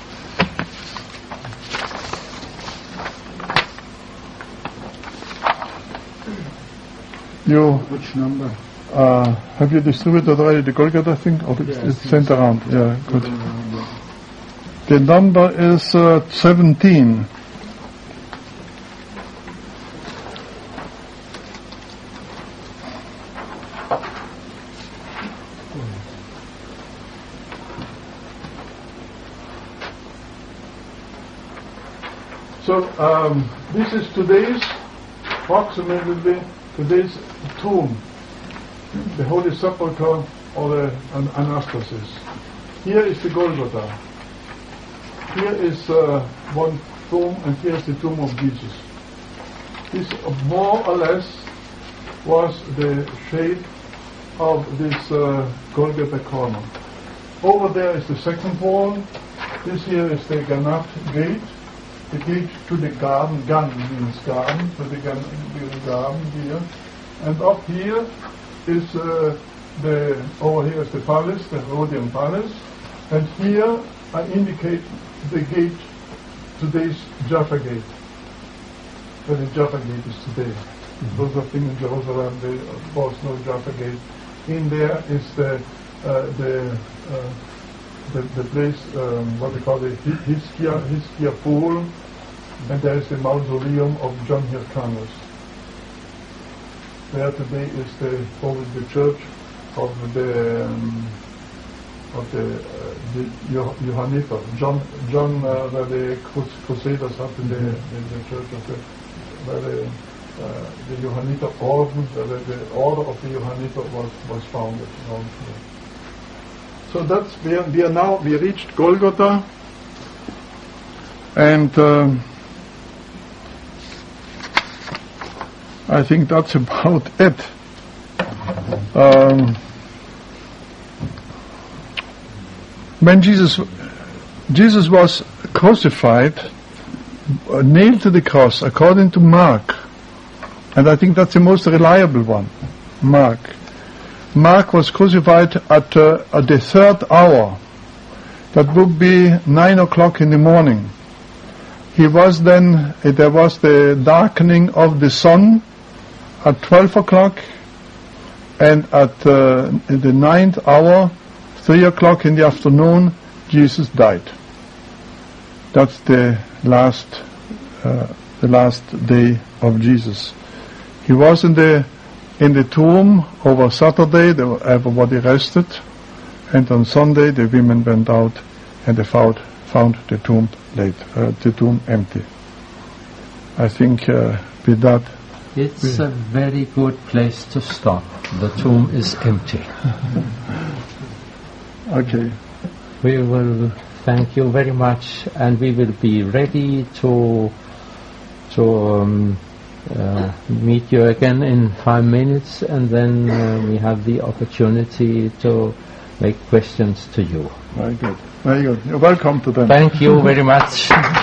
Which number? Have you distributed already the Golgotha thing? Or it's sent around? Yeah, good. The number is 17. So this is approximately today's tomb, the Holy Sepulchre or the Anastasis. Here is the Golgotha. Here is one tomb, and here is the tomb of Jesus. This more or less was the shape of this Golgotha corner. Over there is the second wall. This here is the Ganat gate. The gate to the garden. Gan means garden, so the garden here. And up here is over here is the palace, the Herodian palace. And here I indicate the gate, today's Jaffa gate. Where the Jaffa gate is today. Those of them in Jerusalem, there was no Jaffa gate. In there is the place, what we call the Hiskia pool, and there is the mausoleum of John Hyrcanus. There today is the church of the Johanniter. John, where the Crusaders had the church of where the Johanniter order, where the order of the Johanniter was founded around here. So that's we reached Golgotha, and I think that's about it. When Jesus was crucified, nailed to the cross, according to Mark, and I think that's the most reliable one, Mark was crucified at the third hour. That would be 9 o'clock in the morning. There was the darkening of the sun at 12 o'clock, and at the 9th hour, 3 o'clock in the afternoon, Jesus died. That's the last day of Jesus. He was in the tomb over Saturday. Everybody rested, and on Sunday the women went out and they found the tomb empty. I think with that. It's a very good place to stop. The tomb is empty. Okay. We will thank you very much, and we will be ready to meet you again in 5 minutes, and then we have the opportunity to make questions to you. Very good. Very good. You're welcome to them. Thank you very much.